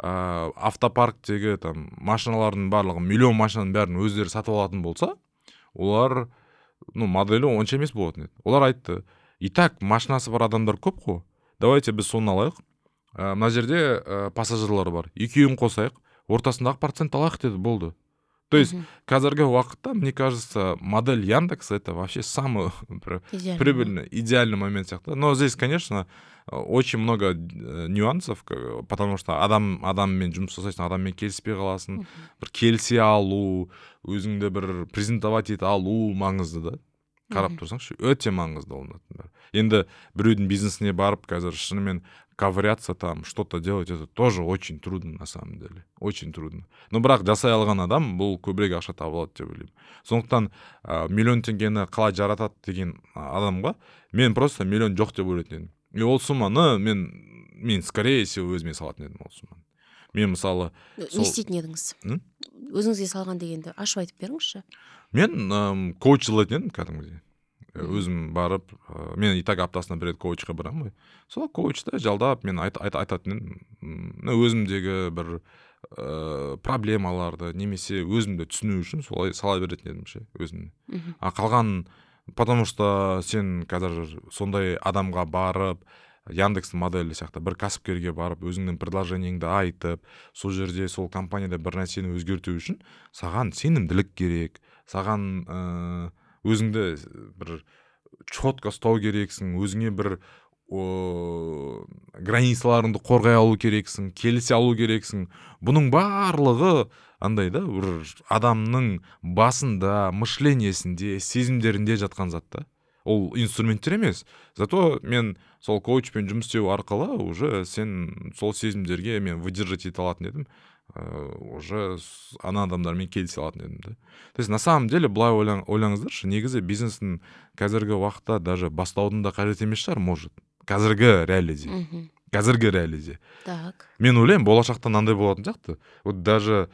автопарктегі там машиналардың барлығы, миллион машинаның бәрін өздері сатып алатын болса, олар моделі онша емес болатын еді. Олар айтты, и так машинасы бар адамдар көп қой. Давайте біз соны алайық. Мына жерде пассажирлар бар. Екеуін қосайық. Ортасындағы процент алайық деді, болды. То есть қазіргі уақытта, мне кажется, модель Яндекса это вообще самый прибыльный, идеальный момент сияқты. Но здесь, конечно, очень много нюансов, потому что адаммен жұмыс жасайсың, адаммен келіспей қаласың, бір келісе алу, өзіңді бір презентовать ете алу маңызды да. Қарап тұрсаңшы, өте маңызды ол. Енді біреудің бизнесіне барып, қазір шынымен ковыряться там, что-то делать, это тоже очень трудно на самом деле. Очень трудно. Но бірақ жасай алған адам бұл көбірек ақша табылады деп ойлаймын. Сондықтан 1 миллион теңгені қалай жаратады деген адамға мен просто 1 миллион жоқ деп ойлайтын едім. И ол сумманы мен скорее всего өзіме салатын едім ол сумманы. Мен мысалы... Не істейтін едіңіз? Өзіңізге салған дегенді ашып айтып беріңізші. Мен коуч жылайтын едім кәдімгідей. Өзім барып, мен и так аптасына бір рет коучқа барамын ғой. Сол коучта жалдап мен айтатын едім. Өзімдегі бір проблемаларды немесе өзімді түсіну үшін солай сала беретін едім ше, өзімді. Қалған, потому что сен қазір сондай адамға барып, Яндекстің моделі сияқты бір кәсіпкерге барып, өзіңнің предложениеңді айтып, сол жерде сол компанияда бір нәрсені өзгерту үшін саған сенімділік керек, саған өзіңді бір четко ұстау керексің, өзіңе бір границаларыңды қорғай алу керексің, келісе алу керексің. Бұның барлығы андай да бір адамның басында, мышлениясінде, сезімдерінде жатқан зат та. Ол инструменттер емес. Зато мен сол коучпен жұмыс істеу арқылы уже сен сол сезімдерге мен выдержать ете алатын едім. Уже ана адамдармен келісе алатын едім да. То есть на самом деле былай ойлаңыздаршы, негізі бизнестің қазіргі уақытта даже бастаудың да қажет емес шығар, может. Қазіргі реалиде. Так. Мен ойлаймын, болашақта мынандай болатын сияқты. Вот даже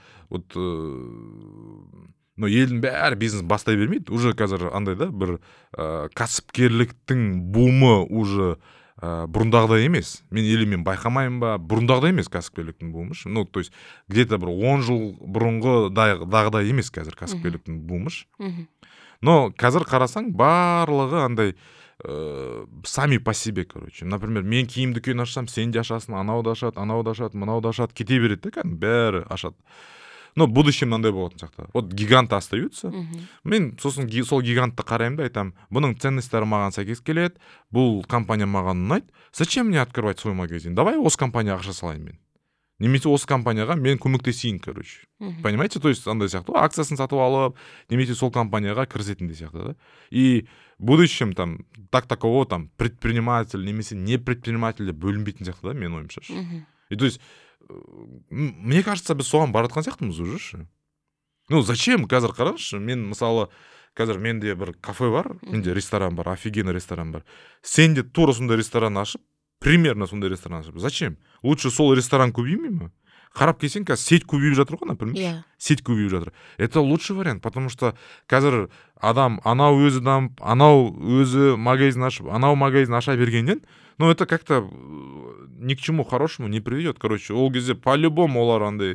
елдің бәрі бизнес бастай бермейді. Уже қазір андай да бір кәсіпкерліктің бумы уже бұрындағыдай емес. Мен байқамаймын ба, бұрындағыдай емес кәсіпкерліктің бумы. Ну, то есть где-то бір 10 жыл бұрынғы дағыдай емес қазір кәсіпкерліктің бумы. Но қазір қарасаң барлығы андай сами по себе, короче. Например, мен киім дүкен ашсам, сен де ашасың, анау да ашады, мынау да ашады, кете береді да, бәрі ашады. Но будущем мынандай болатын сияқты. Вот гиганты остаются. Мен сосын сол гигантты қараймын да айтамын, бұның ценностері маған сәйкес келеді, бұл компания маған ұнайды. Зачем мне открывать свой магазин? Давай осы компанияға ақша салайын мен. Немесе осы компанияға мен көмектесейін, короче. Понимаете? То есть андай сияқты, акциясын сатып алып, немесе сол компанияға кірісетін де сияқты да. И в будущем там такого там предприниматель немесе не предприниматель деп бөлінбейтін сияқты да, мен ойымша. И то есть мне кажется, біз соған баратқан сияқтымыз уже. Ну, зачем? Қазір қараңызшы, мен мысалы қазір менде бір кафе бар, менде ресторан бар, офигенный ресторан бар. Сен де тура сондай ресторан ашып, примерно сондай ресторан ашып. Зачем? Лучше сол ресторан көбеймей ме? Қарап келсең, қазір сеть көбейіп жатыр ғой, например. Сеть көбейіп жатыр. Это лучший вариант, потому что қазір адам анау өзі дамып, анау өзі магазин ашып, анау магазин аша бергеннен, ну, это как-то ни к чему хорошему не приведет. Короче, ол кезде по-любому олар андай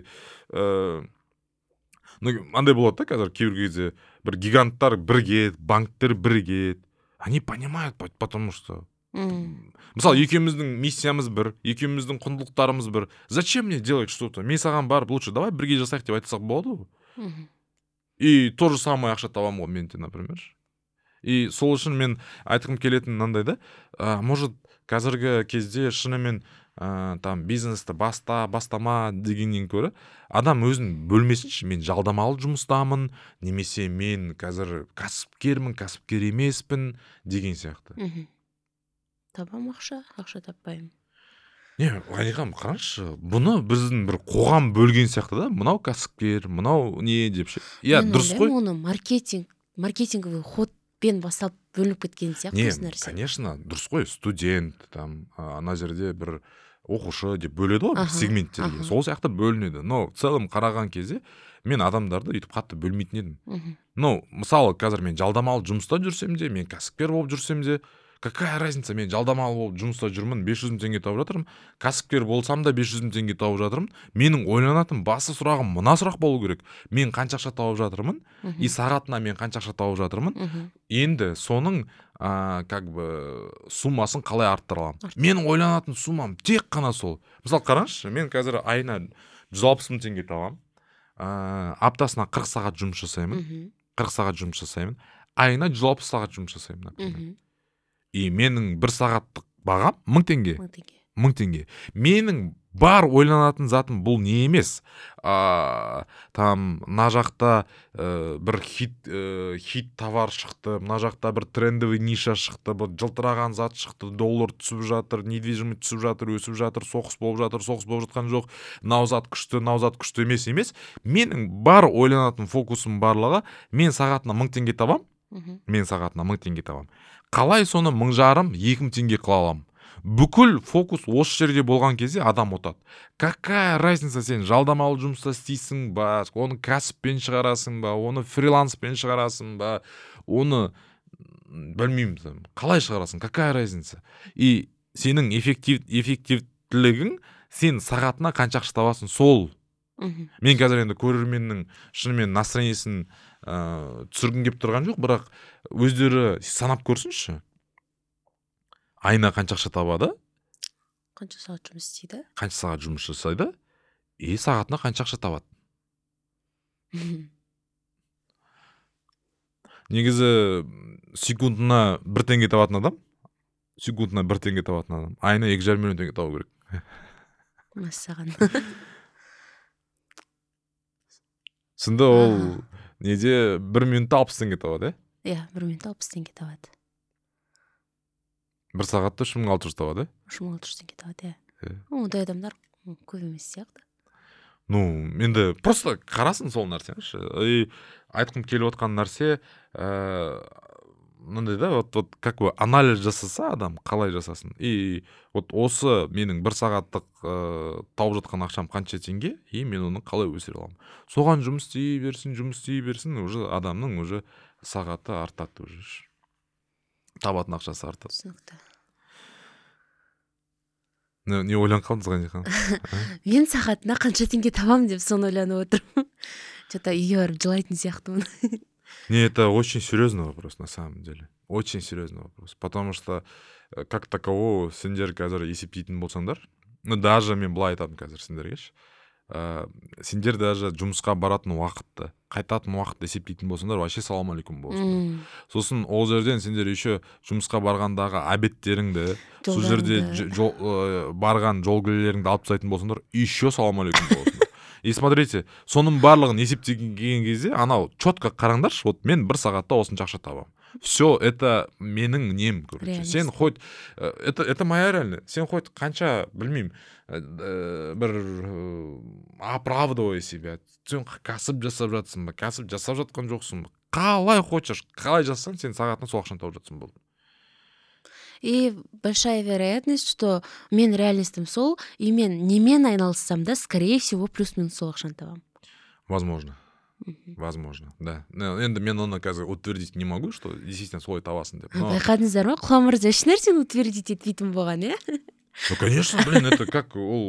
андай болады да, қазір кейбір кезде бір гиганттар бірігеді, банктер бірігеді. Они понимают, потому что мысалы, екеуміздің миссиямыз бір, екеуміздің құндылықтарымыз бір. Зачем мне делать что-то? Мен саған барып, лучше давай бірге жасайық деп айтсақ болады ғой. И то же самое ақша табамын ғой менде, например. И сол үшін мен айтқым келетін мынандай да, может, қазіргі кезде шынымен там бизнесті бастама дегеннен көрі, адам өзін бөлмесінші, мен жалдамалы жұмыстамын, немесе мен қазір кәсіпкермін, кәсіпкер емеспін деген сияқты. Табам ақша таппаймын. Не, Ғаниқам, қараңызшы, бұны біздің бір қоғам бөлген сияқты да, мынау кәсіпкер, мынау не деп ше. Иә, дұрыс қой. Оны маркетинговый ходпен бастап бөлініп кеткен сияқты осы нәрсе. Конечно, дұрыс қой, студент, там, ана жерде бір оқушы деп бөледі ғой, сегменттерге. Сол сияқты бөлінеді. Но в целом қараған кезде мен адамдарды үйтіп қатты бөлмейтін едім. Ну, мысалы, қазір мен жалдамалы жұмыста жүрсем де, мен кәсіпкер болып жүрсем де, какая разница, мен жалдамалы болып жұмыста жүрмін, 500 мың теңге тауып жатырмын, кәсіпкер болсам да 500 мың теңге тауып жатырмын. Менің ойланатын басты сұрағым мына сұрақ болу керек. Мен қанша ақша тауып жатырмын, и сағатына мен қанша ақша тауып жатырмын. Енді соның как бы суммасын қалай арттыра аламын? Менің ойланатын суммам тек қана сол. Мысалы, қараңызшы, мен қазір айына 160 мың теңге табамын. Аптасына 40 сағат жұмыс жасаймын. 40 сағат жұмыс жасаймын. Айына 160 сағат жұмыс жасаймын, например. И менің бір сағаттық бағам 1000 теңге. 1000 теңге. Менің бар ойланатын затым бұл не емес. Там, мына жақта бір хит товар шықты, мына жақта бір трендовый ниша шықты, бір жылтыраған зат шықты, доллар түсіп жатыр, недвижимость түсіп жатыр, өсіп жатыр, соғыс болып жатқан жоқ, мынау зат күшті емес. Менің бар ойланатын фокусым барлығы, мен сағатына 1000 теңге табам. Қалай соны 1500, 2000 теңге қыла аламын? Бүкіл фокус осы жерде болған кезде адам ұтады. Какая разница, сен жалдамалы жұмыста істейсің ба, оны кәсіппен шығарасың ба, оны фриланспен шығарасың ба, оны білмеймін, қалай шығарасың, какая разница? И сенің эффективтілігің, сен сағатына қанша ақша табасың, сол. Мен қазір енді көрерменнің шынымен настроениесін түсіргім келіп тұрған жоқ, бірақ өздері санап көрсінші. Айына қанша ақша табады? Қанша сағат жұмыс істейді? Қанша сағат жұмыс жасайды? И сағатына қанша ақша табады? Негізі секундына 1 теңге табатын адам, секундына 1 теңге табатын адам айына 2,5 миллион теңге табу керек. Мәссаған. Сонда ол неде 1 минутта 60 теңге табады, Иә, 1 минутта 60 теңге табады. 1 сағатта 3,600 табады. 3,600 теңге табады, Иә. Ондай адамдар көп емес сияқты. Ну, енді просто қарасын сол нәрсені. И айтқым келіп отқан нәрсе, мынандай да, вот как бы анализ жасаса адам, қалай жасасын. И вот осы менің 1 сағаттық тауып жатқан ақшам қанша теңге, и мен оны қалай өсіре аламын. Соған жұмыс істей берсін, уже адамның уже сағаты артады уже. Табатын ақшасы артады. Түсінікті. Не ойланып қалдыңыз Ғанихан? Мен сағатына қанша теңге табам деп соны ойланып отырмын. Что-то үйге барып жылайтын сияқтымын. Не, это очень серьезный вопрос на самом деле. Очень серьезный вопрос. Потому что как такового сендер қазір есептейтін болсаңдар, ну даже мен былай айтамын қазір сендергеші. Сендер даже жұмысқа баратын уақытты, қайтатын уақытты есептейтін болсаңдар, вообще салам алейкум болсын. Сосын ол жерден сендер еще жұмысқа барғандағы обедтеріңді, сол жерде барған жолгілеріңді алып тастайтын болсаңдар, еще салам алейкум болсын. И смотрите, соның барлығын есептеген кезде, анау четко қараңдаршы, вот мен 1 сағатта осынша ақша табам. Все, это менің нем, короче. Сен хоть, это моя реальность. Сен хоть қанша, білмеймін, бір оправдывай себя. Сен кәсіп жасап жатсың ба, кәсіп жасап жатқан жоқсың ба. Қалай хочешь, қалай жасасаң, сен сағатына сол ақшаны тауып жатсың болды. И большая вероятность, что мен реалистім сол, и мен немен айналыссам да, скорее всего, плюс-минус сол ақшаны табам. Возможно. Возможно, да. Енді мен оны қазір утвердить не могу, что действительно солай табасың деп. Байқадыңыздар ма? Құлан мырза еш нәрсені утвердить етпейтін болған, Ну, конечно, блин, это как ол...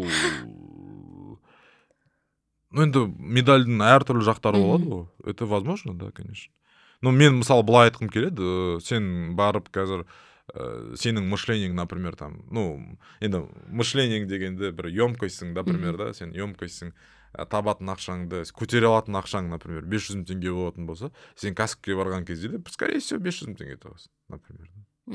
Ну, енді медальдің әртүрлі жақтары болады ғой. Это возможно, да, конечно. Ну, мен мысалы былай айтқым келеді, сен барып қазір сенің мышлениең, например, там, ну, енді мышлениең дегенде бір емкостьсің, например, да, сен емкостьсің, табатын ақшаңды, көтере алатын ақшаң, например, 500 мың теңге болатын болса, сен кәсіпке барған кезде де, скорее всего, 500 мың теңге табасың, например.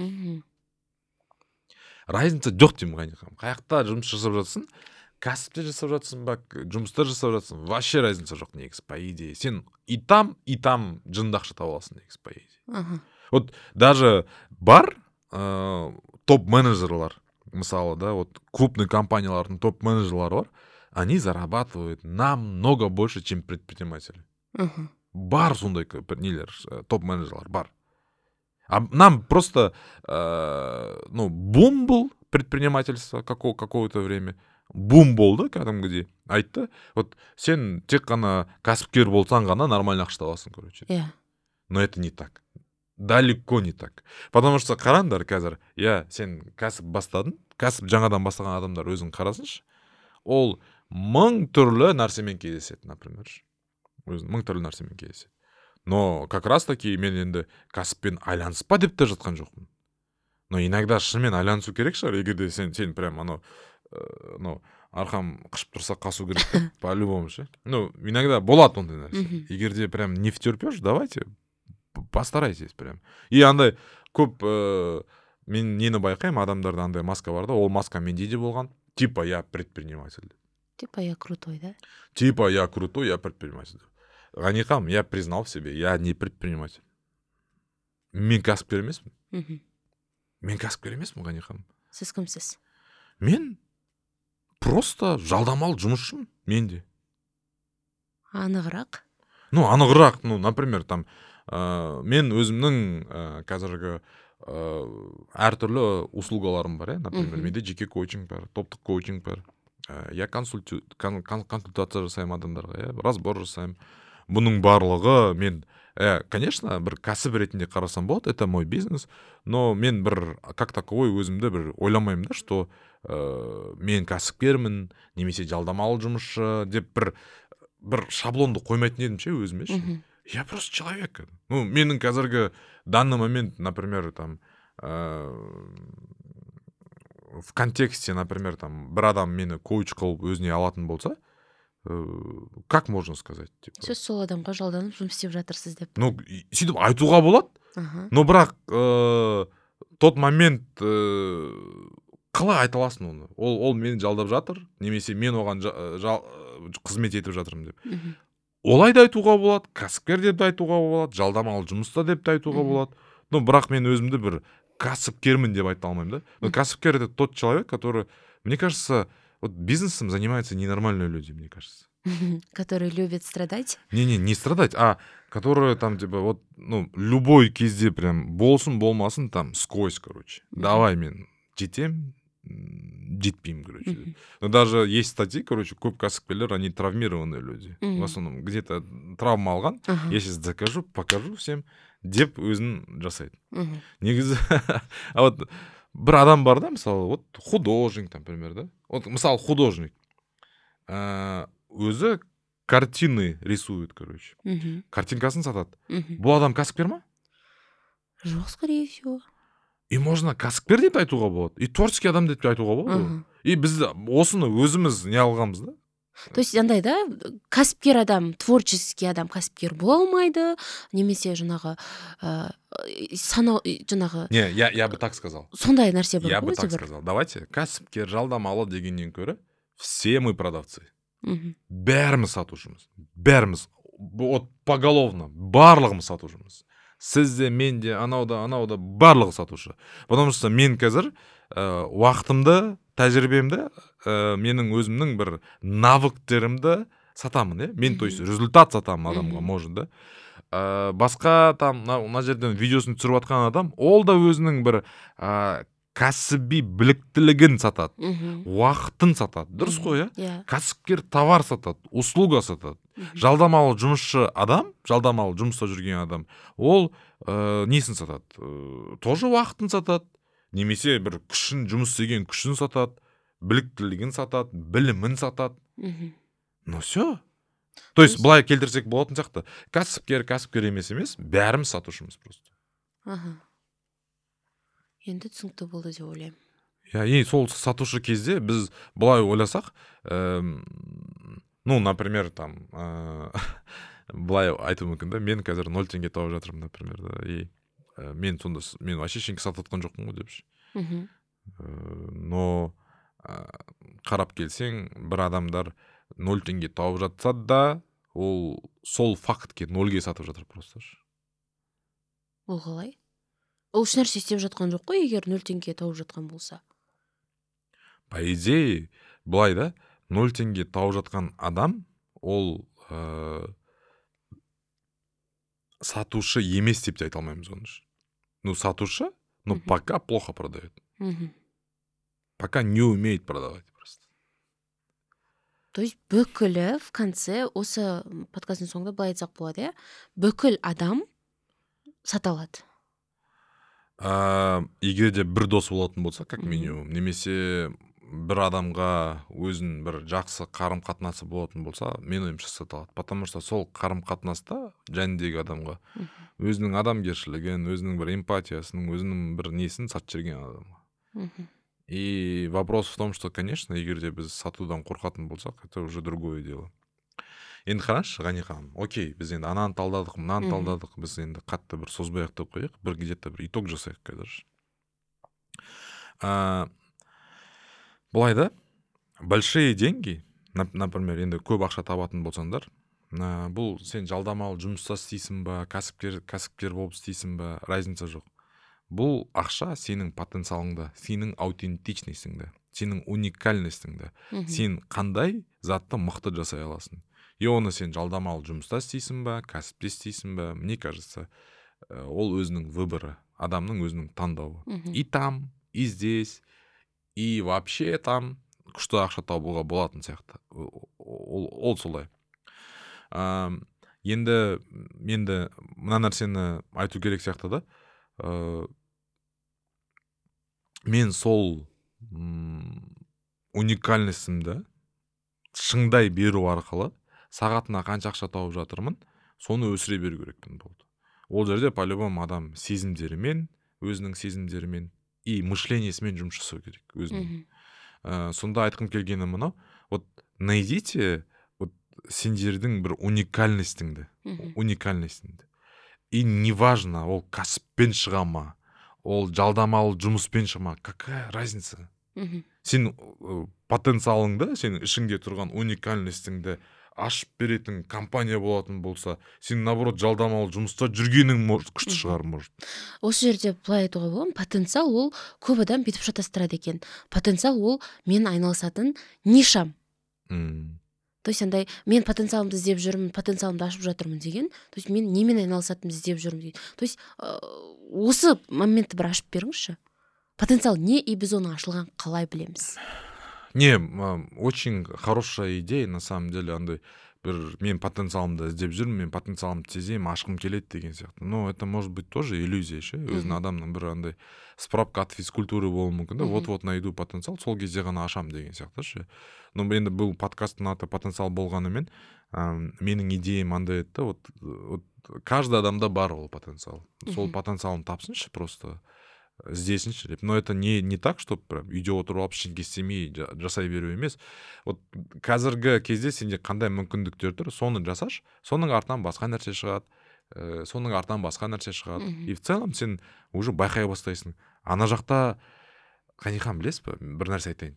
Разница жоқ деймін Ғанихан. Қаяқта жұмыс жасап жатсың, кәсіпте жасап жатсың ба, жұмыста жасап жатсың, вообще разница жоқ негізі, по идее. Сен и там жынды ақша таба аласың негізі, по идее. Вот даже бар топ-менеджерлар, мысалы, да, вот крупный компаниялардың топ-менеджерлары бар, они зарабатывают намного больше, чем предприниматели. Бар сондай нелер, топ-менеджерлар, бар. А нам просто, ну, бум был предпринимательство какое-то время. Бум болды кәдімгідей. Айтты, вот сен тек қана кәсіпкер болсаң ғана нормально ақша табасың, короче. Но это не так. Далеко не так. Потому что қараңдар қазір, сен кәсіп бастадың, кәсіп жаңадан бастаған адамдар өзің қарасыншы, ол 1000 түрлі нәрсемен кездеседі, например. Өзің 1000 түрлі нәрсемен кездеседі. Но как раз таки мен енді кәсіппен айланыспа деп те жатқан жоқпын. Но иногда шынымен айланысу керек шығар, егерде сен прям арқам қышып тұрса қасу керек, по-любому ше. Ну, иногда болады ондай нәрсе. Егерде прям не втерпешь, давайте постарайтесь прям. И андай көп мен нені байқаймын, адамдарда андай маска бар да, ол маска менде де болған. Типа я предприниматель. Типа я крутой, да? Типа я крутой, я предприниматель. Ғанихан, я признал в себе, я не предприниматель. Мен кәсіпкер емеспін. Мен кәсіпкер емеспін, Ғанихан. Сіз кімсіз? Мен просто жалдамалы жұмысшымын, менде. Анығырақ? Ну, анығырақ, ну, например, там, мен өзімнің қазіргі әртүрлі услугаларым бар, например, менде жеке коучинг бар, топтық коучинг бар. Я консультация жасаймын адамдарға, разбор жасаймын. Бұның барлығы мен, конечно, бір кәсіп ретінде қарасам болады, это мой бизнес, но мен бір, как таковой өзімді бір ойламаймын да, что мен кәсіпкермін, немесе жалдамалы жұмысшы деп бір шаблонды қоймайтын едім ше өзіме ше. Я просто человек. Ну, менің қазіргі данный момент, например, там, в контексте, например, там, бір адам мені коуч қылып өзіне алатын болса, как можно сказать? Типа? Сіз сол адамға жалданып жұмыс істеп жатырсыз деп. Ну, сөйтіп айтуға болады, но бірақ тот момент қалай айта аласың оны? Ол мені жалдап жатыр, немесе мен оған қызмет етіп жатырмын деп. Олай да айтуға болады, кәсіпкер деп те айтуға болады, жалдамалы жұмыста деп те айтуға болады. Но бірақ мен өзімді бір кәсіпкермін деп айта алмаймын да. Но кәсіпкер это тот человек, который, мне кажется, вот бизнесом занимаются ненормальные люди, мне кажется. Которые любят страдать? Не страдать, а которые там типа вот, ну, любой кезде прям болсын болмасын там сквозь, короче. Давай мен жетем, жетпеймін, короче. Но даже есть статьи, короче, көп кәсіпкерлер, они травмированные люди. В основном где-то травма алған, я сейчас закажу, покажу всем, деп өзін жасайды. Негізі, а вот бір адам бар да, мысалы, вот художник, например, да? Вот, мысалы, художник. Өзі картины рисует, короче. Картинкасын сатады. Бұл адам кәсіпкер ма? Жоқ, скорее всего. И можно кәсіпкер деп айтуға болады, и творческий адам деп айтуға болады. И біз осыны өзіміз не алғанбыз да? То есть андай да, кәсіпкер адам, творческий адам кәсіпкер бола алмайды, немесе жаңағы жаңағы... Не, я бы так сказал. Сондай нәрсе бар. Я бы так сказал. Давайте, кәсіпкер жалдамалы дегеннен көрі, все мы продавцы. Бәріміз сатушымыз. Бәріміз. Вот поголовно. Барлығымыз сатушымыз. Сіз де, мен де, анау да барлығы сатушы. Потому что мен қазір уақытымды, тәжірибемді, менің өзімнің бір навыктерімді сатамын, мен, то есть, результат сатамын адамға, может, да. Басқа там, мына жерден видеосын түсіріп атқан адам, ол да өзінің бір кәсіби біліктілігін сатады, уақытын сатады, дұрыс қой, кәсіпкер товар сатады, услуга сатады. Жалдамалы жұмысшы адам, жалдамалы жұмыста жүрген адам, ол несін сатады? Тоже уақытын сатады, немесе бір күшін, жұмыс істеген күшін сатады, біліктілігін сатады, білімін сатады. Ну все. То есть, былай келтірсек болатын сияқты, кәсіпкер емес, бәріміз сатушымыз просто. Енді түсінікті болды деп ойлаймын. И сол сатушы кезде біз былай ойласақ, ну, например, там, былай айту мүмкін да, мен қазір 0 теңге тауып жатырмын, например, да, и мен вообще ештеңе сатып жатқан жоқпын ғой депші. Но қарап келсең, бір адамдар 0 теңге тауып жатса да, ол сол фактке 0-ге сатып жатыр просто. Ол қалай? Ол үш нәрсе істеп жатқан жоқ қой, егер 0 теңге тауып жатқан болса. По идее, былай да, 0 теңге тауып жатқан адам, ол сатушы емес деп те айта алмаймыз оны. Ну, сатушы, но пока плохо продает. Пока не умеет продавать просто. То есть бүкілі в конце, осы подкастың соңында былай айтсақ болады, бүкіл адам сата алады. Егер де бір дос болатын болса, как минимум, немесе бір адамға өзін бір жақсы қарым-қатынасы болатын болса, мен ойымша сата алады. Потому что сол қарым-қатынаста жәндегі адамға өзінің адамгершілігін, өзінің бір эмпатиясын, өзінің бір несін сатып жүрген адамға. И вопрос в том, что, конечно, егер де біз сатудан қорқатын болсақ, это уже другое дело. Енді қарашы, Ғани ханым, окей, біз енді ананы талдадық, мынаны талдадық, біз енді қатты бір созбай ақтап қояйық, бір где-то бір итог жасайық қазір. Былай да, большие деньги, например, енді көп ақша табатын болсаңдар, бұл сен жалдамалы жұмыста істейсің ба, кәсіпкер болып істейсің ба, разница жоқ. Бұл ақша сенің потенциалыңда, сенің аутентичностіңде, сенің уникальностіңде, сен қандай затты мықты жасай аласың. И оны сен жалдамалы жұмыста істейсің ба, кәсіпте істейсің ба, мне кажется, ол өзінің выборы, адамның өзінің таңдауы. И там, и здесь, и вообще там күшті ақша табуға болатын сияқты. Ол солай. Енді мына нәрсені айту керек сияқты да. Мен сол уникальностімді шыңдай беру арқылы сағатына қанша ақша тауып жатырмын, соны өсіре беру керекпін болды. Ол жерде по-любому адам сезімдерімен, өзінің сезімдерімен и мышлениясымен жұмыс жасау керек өзінің. Сонда айтқым келгені мынау, вот найдите вот сендердің бір уникальностіңді. И неважно, ол кәсіппен шыға ма, ол жалдамалы жұмыспен шығма, какая разница? Мгм. Сен потенциалыңды, сенің ішіңде тұрған уникальностіңді ашып беретін компания болатын болса, сен наоборот жалдамалы жұмыста жүргенің күшті шығар, может. Осы жерде былай айтуға болады, потенциал ол көп адам бүйтіп шатастырады екен. Потенциал ол мен айналысатын нишам. То есть андай мен потенциалымды іздеп жүрмін, потенциалымды ашып жатырмын деген. То есть мен немен айналысатынымды іздеп жүрмін деген. То есть осы моментті бір ашып беріңізші. Потенциал не, и біз оны ашылған қалай білеміз? Не, очень хорошая идея, на самом деле, андай бір мен потенциалымды іздеп жүрмін, мен потенциалымды сеземін, ашқым келеді деген сияқты. Но это может быть тоже иллюзия ше. Өзінің адамның бір андай справка от физкультуры болуы мүмкін да, вот найду потенциал, сол кезде ғана ашам деген сияқты ше. Но енді бұл подкасттың аты потенциал болғанымен, менің идеям андай еді, вот каждый адамда бар ол потенциал. Сол потенциалын тапсыншы просто. Іздесінші деп. Но это не так, что прям үйде отырып алып ештеңе істемей жасай беру емес. Вот қазіргі кезде сенде қандай мүмкіндіктер тұр, соны жасаш, соның артынан басқа нәрсе шығады, соның артынан басқа нәрсе шығады. И в целом сен уже байқай бастайсың. Ана жақта, Қанихан, білесіз ба, бір нәрсе айтайын.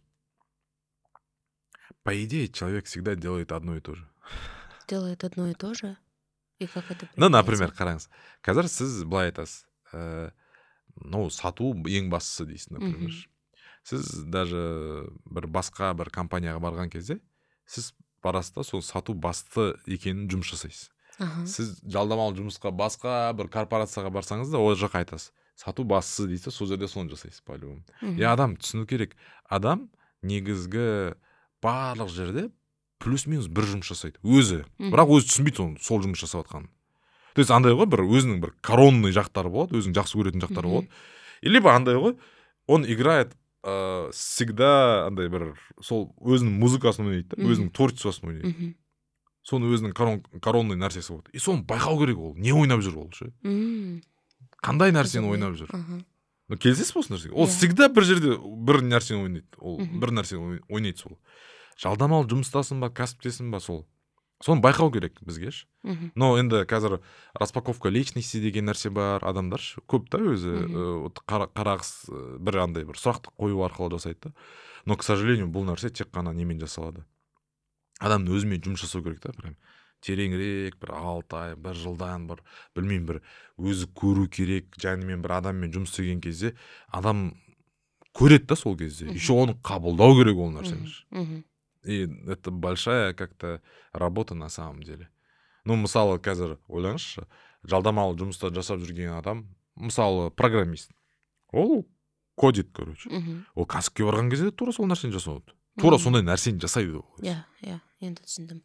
По идее, человек всегда делает одно и то же. Делает одно и то же? И как это? Ну, например, қараңыз. Қазір сіз былай айтасыз. Сату ең бастысы дейсің, например. Сіз даже бір басқа бір компанияға барған кезде, сіз барасыз да, сол сату басты екенін жұмыс жасайсыз. Сіз жалдамалы жұмысқа басқа бір корпорацияға барсаңыз да, ол жаққа айтасыз. Сату бастысы дейсіз, сол жерде соны жасайсыз по-любому. Адам түсіну керек. Адам негізгі барлық жерде плюс-минус бір жұмыс жасайды. Өзі. Бірақ өзі түсінбейді сол жұмыс жасап жатқанын. То есть андай ғой, бір өзінің бір коронный жақтары болады, өзінің жақсы көретін жақтары болады. Или андай ғой, он играет всегда андай бір сол өзінің музыкасын ойнайды, өзінің творчествосын ойнайды. Соны өзінің коронный нәрсесі болады. И соны байқау керек ол. Не ойнап жүр ол ше? Қандай нәрсені ойнап жүр? Келісесіз бе осы нәрсеге? Ол всегда бір жерде бір нәрсені ойнайды. Ол бір нәрсені ойнайды сол. Жалдамалы жұмыстасың ба, кәсіптесің ба, сол. Соны байқау керек бізге. Но енді қазір распаковка личности деген нәрсе бар, адамдар көп та өзі қарағыс бір андай бір сұрақты қою арқылы жасайды да. Но, к сожалению, бұл нәрсе тек қана немен жасалады. Адамның өзімен жұмыс жасау керек та, прям тереңірек, бір 6 ай, 1 жылдан бір, білмеймін, бір өзі көру керек, жәнімен бір адаммен жұмыс істеген кезде, адам көреді да сол кезде. Еще оны қабылдау керек ол нәрсені. И это большая как-то работа на самом деле. Ну, мысалы, қазір ойлаңызшы, жалдамалы жұмыста жасап жүрген адам, мысалы, программист. Ол кодит, короче. Ол кәсіпке барған кезде тура сол нәрсені жасауды. Тура сондай нәрсені жасайды. Иә, енді түсіндім.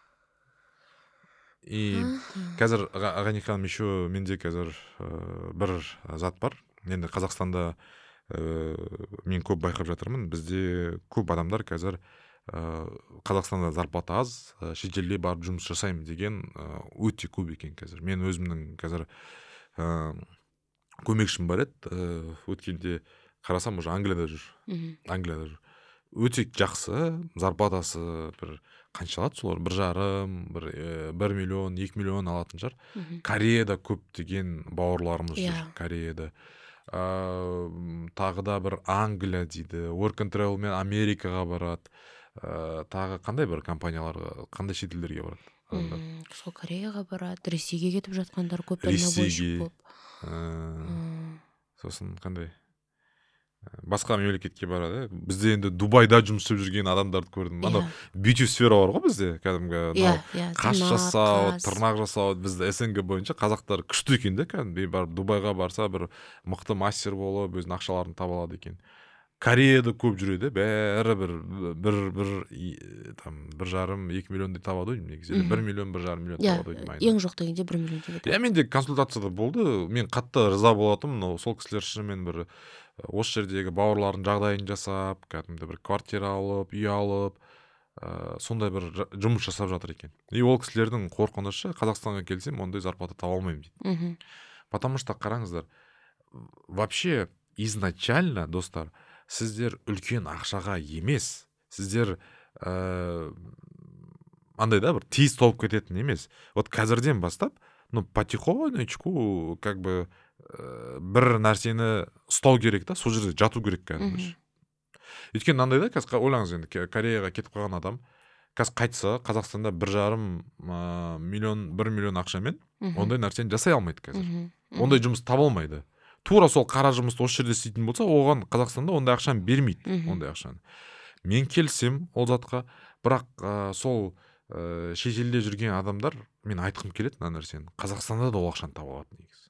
И қазір, Ғанихан, еще менде қазір бір зат бар. Енді Қазақстанда мен көп байқап жатырмын. Бізде көп адамдар қазір Қазақстанда зарплата аз, шетелде барып жұмыс жасаймын деген өте көп екен қазір. Мен өзімнің қазір көмекшім бар еді, өткенде қарасам уже Англияда жүр. Англияда жүр. Өте жақсы, зарплатасы бір қанша алады солар? 1,5, 1 миллион, 2 миллион алатын шығар. Кореяда көп деген бауырларымыз жүр, Кореяда. Тағы да бір Англия дейді, Work and Travel мен Америкаға барады. Тағы қандай бір компанияларға, қандай шетелдерге барады? Сол Кореяға барады, Ресейге кетіп жатқандар көп, дальнобойщик көп. Сосын қандай? Басқа мемлекетке барады. Бізде енді Дубайда жұмыс істеп жүрген адамдарды көрдім. Анау бьюти сфера бар ғой бізде, кәдімгі қаш жасау, тырнақ жасау, бізде СНГ бойынша қазақтар күшті екен де, кәдімгі барып Дубайға барса бір мықты мастер болып, өзінің ақшаларын таба алады екен. Кореяда көп жүреді, бәрі бір 1,5-2 миллиондай табады ғой негізі. 1 миллион, 1,5 миллион табады ғой. Ең жоқ дегенде 1 миллион табады. Менде консультацияда болды. Мен қатты риза болатынмын, сол кісілер шынымен бір осы жердегі бауырлардың жағдайын жасап, кәдімгі бір квартира алып, үй алып, сондай бір жұмыс жасап жатыр екен. И ол кісілердің қорқынышы, Қазақстанға келсем, ондай зарплата таба алмаймын дейді. Потому что қараңыздар, вообще изначально, достар, сіздер үлкен ақшаға емес, сіздер андай да бір тиіс толып кететін емес. Вот қазірден бастап, потихонечку, как бы бір нәрсені ұстау керек та, сол жерде жату керек кәдімгі. Өйткені мынандай да, қазір ойлаңыз енді, Кореяға кетіп қалған адам қазір қайтса, Қазақстанда 1,5 миллион 1 миллион ақшамен ондай нәрсені жасай алмайды қазір. Ондай жұмыс таба алмайды. Тура сол қара жұмысты осы жерде істейтін болса, оған Қазақстанда ондай ақшаны бермейді, ондай ақшаны. Мен келсем ол затқа, бірақ сол шетелде жүрген адамдар, мен айтқым келеді мына нәрсені. Қазақстанда да ол ақшаны таба алады негізі.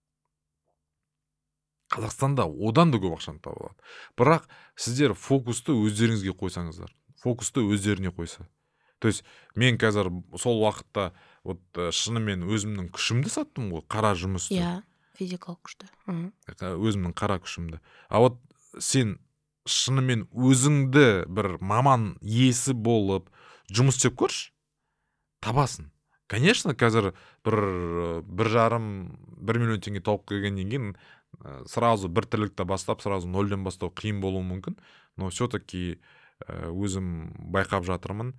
Қазақстанда одан да көп ақшаны таба алады. Бірақ сіздер фокусты өздеріңізге қойсаңыздар, фокусты өздеріне қойса. То есть мен қазір сол уақытта вот шынымен өзімнің күшімді саттым ғой, қара жұмысты. Физикалық күшті. Өзімнің қара күшімді. А вот сен шынымен өзіңді бір маман иесі болып жұмыс істеп көрші, табасың. Конечно, қазір 1,5 миллион теңге тауып келгеннен кейін сразу бір тірлікті бастап, сразу нөлден бастау қиын болуы мүмкін, но все-таки өзім байқап жатырмын.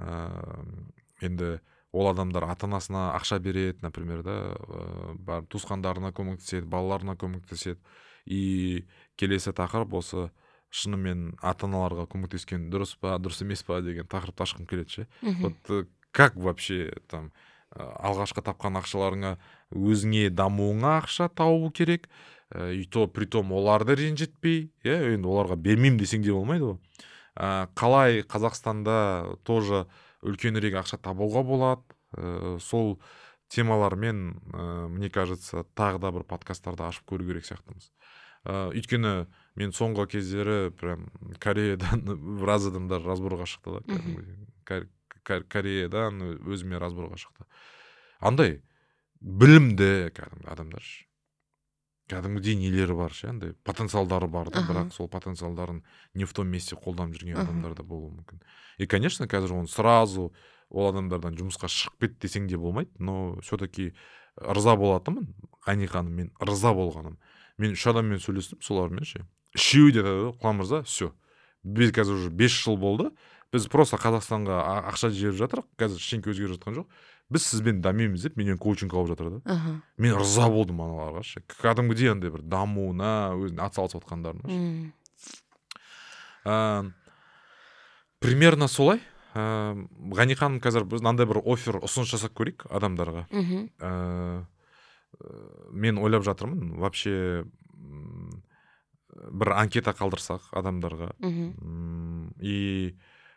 Енді ол адамдар ата-анасына ақша береді, например, да, туысқандарына көмектеседі, балаларына көмектеседі. И келесі тақырып осы шынымен ата-аналарға көмектескен дұрыс па, дұрыс емес па деген тақырыпты ашқым келеді ше. Вот как вообще там алғашқы тапқан ақшаларыңа өзіңе дамуыңа ақша тауу керек, и то притом оларды ренжітпей, енді оларға бермеймін десең де болмайды ғой. Қалай Қазақстанда тоже үлкенірек ақша табуға болады, сол темалармен, мне кажется, тағы да бір подкасттарды ашып көру керек сияқтымыз. Өйткені мен соңғы кездері прям Кореядан біраз адамдар разборға шықты да. Кореядан өзіме разборға шықты. Андай білімді кәдімгі адамдар. Кәдімгідей нелері бар ше, андай потенциалдары бар да, бірақ сол потенциалдарын не в том месте қолданып жүрген адамдар да болуы мүмкін. И, конечно, қазір оны сразу ол адамдардан жұмысқа шығып кет десең де болмайды, но все-таки рыза болатынмын. Ғани ханым, мен рыза болғаным. Мен 3 адаммен сөйлестім, солармен ше. Үшеуі де Құлан мырза, все. Біз қазір уже 5 жыл болды. Біз просто Қазақстанға ақша жіберіп жатырық. Қазір ештеңе өзгеріп жатқан жоқ. Біз сізбен дамимыз деп менен коучинг алып жатыр да. Мен рыза болдым аналарға ше. Кәдімгідей андай бір дамуына, өзіне атсалысып жатқандарына. Примерно солай. Ғани ханым, қазір біз мынандай бір оффер, ұсыныс жасап көрейік адамдарға. Мен ойлап жатырмын, вообще бір анкета қалдырсақ адамдарға. И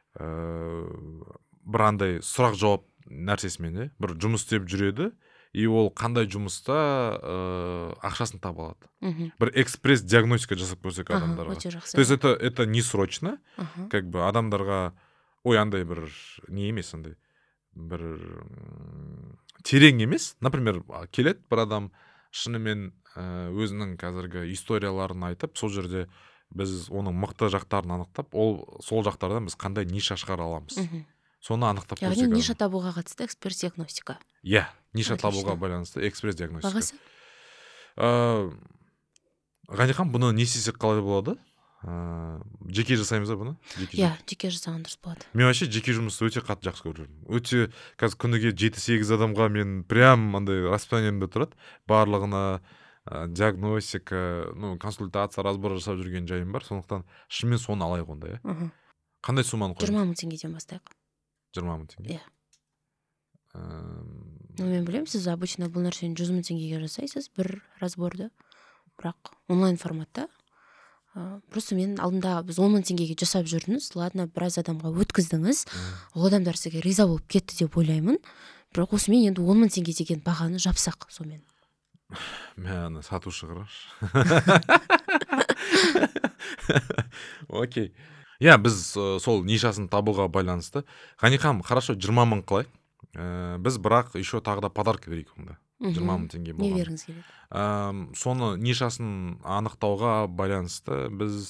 бір андай сұрақ жауап нәрсесімен, бір жұмыс істеп жүреді, и ол қандай жұмыста ақшасын таба алады. Бір экспресс диагностика жасап көрсек адамдарға. То есть это не срочно, как бы адамдарға ой андай бір не емес, андай бір терең емес. Например, келеді бір адам шынымен өзінің қазіргі историяларын айтып, сол жерде біз оның мықты жақтарын анықтап, сол жақтардан біз қандай ниша шығара аламыз. Соны анықтап көрсек. Яғни ниша табуға қатысты экспресс диагностика. Ниша табуға байланысты экспресс диагностика. Бағасы? Ғани ханым, бұны не істесек қалай болады? Жеке жасаймыз ба бұны? Жеке жасаған дұрыс болады. Мен вообще жеке жұмысты өте қатты жақсы көріп жүрмін. Өте қазір күніге 7-8 адамға мен прям андай расписаниемде тұрады. Барлығына диагностика, консультация, разбор жасап жүрген жайым бар. Сондықтан шынымен соны алайық онда, Қандай сумманы қойып? 20 000 теңгеден бастайық. 20 000 теңге? Мен білемін, сіз обычно бұл нәрсені 100 000 теңгеге жасайсыз, бір разборды. Бірақ онлайн форматта. Просто мен алдында біз 10 000 теңгеге жасап жүрдіңіз, ладно, біраз адамға өткіздіңіз, ол адамдар сізге риза болып кетті деп ойлаймын. Бірақ осымен енді 10 000 теңге деген бағаны жапсақ сомен. Мен сатушы қыраш. Окей. Біз сол нишасын табуға байланысты. Ғани ханым, хорошо, 20 000 қылайық. Біз бірақ еще тағы да подарок берейік онда. 20 000 теңге болған. Не беріңіз келеді? Соны нишасын анықтауға байланысты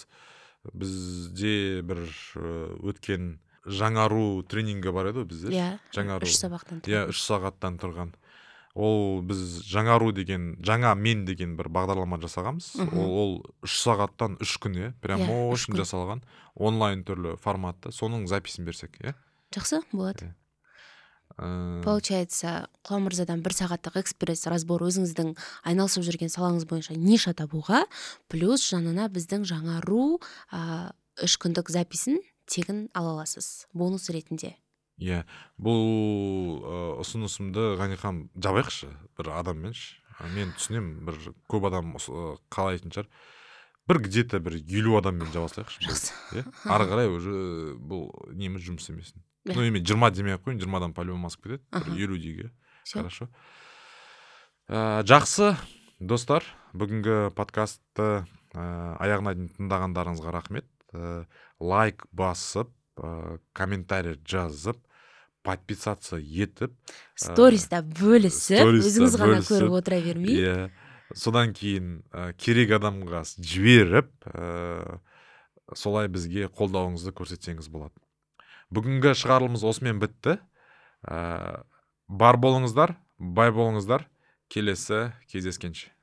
бізде бір өткен жаңару тренингі бар еді бізде. Жаңару. 3 сабақтан тұрған. 3 сағаттан тұрған. Ол біз жаңару деген, жаңа мен деген бір бағдарлама жасағанбыз. Ол 3 сағаттан 3 күн, прям очень жасалған онлайн түрлі форматта. Соның записін берсек, Жақсы, болады. Получается, Құлан мырзадан 1 сағаттық экспресс разбор өзіңіздің айналысып жүрген салаңыз бойынша ниша табуға, плюс жанына біздің жаңару 3 күндік записін тегін ала аласыз бонус ретінде. Иә, бұл ұсынысымды Ғанихам жабайықшы бір адамменші. Мен түсінем, бір көп адам қалайтын шығар. Бір где-то бір 50 адаммен жабасайықшы. Жақсы. Ары қарай уже бұл неміз жұмыс емесін. Ну, емен 20 демей ақ қойын, 20-дан по-любому асып кетеді. Бір 50 дейге. Хорошо. Жақсы, достар, бүгінгі подкастты аяғына дейін тыңдағандарыңызға рахмет. Лайк басып, комментарий жазып, подписаться етіп, Сториста бөлісіп, өзіңіз ғана көріп отыра бермей. Иә. Содан кейін керек адамға жіберіп, солай бізге қолдауыңызды көрсетсеңіз болады. Бүгінгі шығарылымыз осымен бітті. Бар болыңыздар, бай болыңыздар. Келесі кездескенше.